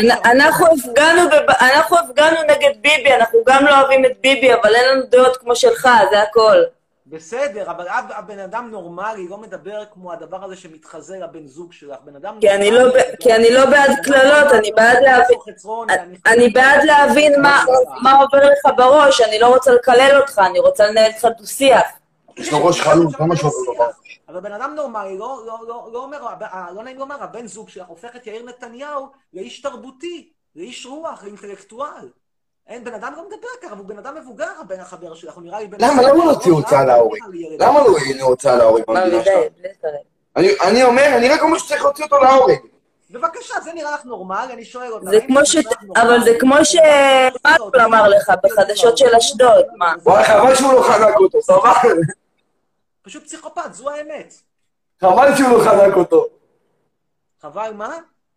אנחנו הפגנו נגד ביבי, אנחנו גם לא אוהבים את ביבי, אבל אין לנו דעות כמו שלך, זה הכל. בסדר, אבל הבן אדם נורמלי לא מדבר כמו הדבר הזה שמתחזה לבן זוג שלך. כי אני לא בעד קללות, אני בעד להבין מה עובר לך בראש, אני לא רוצה לקלל אותך, אני רוצה לנהל איתך דו-שיח. יש לו ראש חלום, לא משהו עובר לו. אבל בן אדם נורמלי, לא נעים לומר, הבן זוג שלך הופך את יאיר נתניהו לאיש תרבותי, לאיש רוח, לאינטלקטואל. אין, בן אדם לא מדבר ככה, הוא בן אדם מבוגר, הבן החבר שלך, הוא נראה לי בן... למה לא הוציא הוצאה להורים? למה לא הוצאה להורים? אני אומר, אני רק אומר שצריך להוציא אותו להורים. בבקשה, זה נראה לך נורמל, אני שואל אותך. אבל זה כמו שמאקול אמר לך, בחדשות של אשדוד, מה? וואי, חבל שהוא לא חנק אותו, סבבה? פשוט פסיכופת, זו האמת. חבל שהוא לא חנק אותו. חבל מה?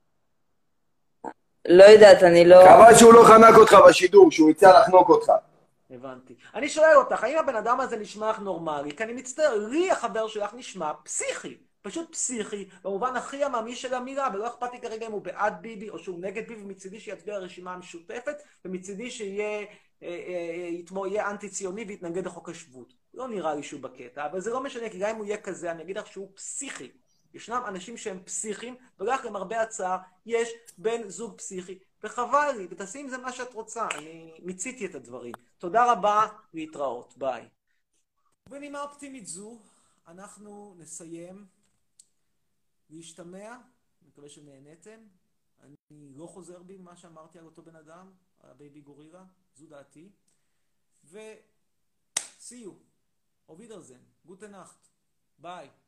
לא יודעת, אני לא... חבל שהוא לא חנק אותך בשידור, שהוא יצא לחנוק אותך. הבנתי. אני שואל אותך, האם הבן אדם הזה נשמע לך נורמלי? כי אני מצטער, לי החבר שלך נשמע פסיכי. פשוט פסיכי, במובן הכי עממי של המילה, ולא אכפת לי כרגע אם הוא בעד ביבי או שהוא נגד ביבי, מצידי שיצביע הרשימה המשותפת, ומצידי שיהיה אנטי-ציוני ויתנגד לחוק השבות. לא נראה לי שהוא בקטע, אבל זה לא משנה, כי גם אם הוא יהיה כזה, אני אגיד לך שהוא פסיכי. ישנם אנשים שהם פסיכיים, ולך למרבה הצער, יש בן זוג פסיכי, וחבל לי, ותעשי עם זה מה שאת רוצה, אני מיציתי את הדברים. תודה רבה, להתראות, ביי. בנימה אופטימית זו, אנחנו נסיים להשתמע, מקווה שנהנתם. אני לא חוזר בי מה שאמרתי על אותו בן אדם, על הבייבי גורילה, זו דעתי. ו... see you. Auf Wiedersehen. Gute Nacht. Bye.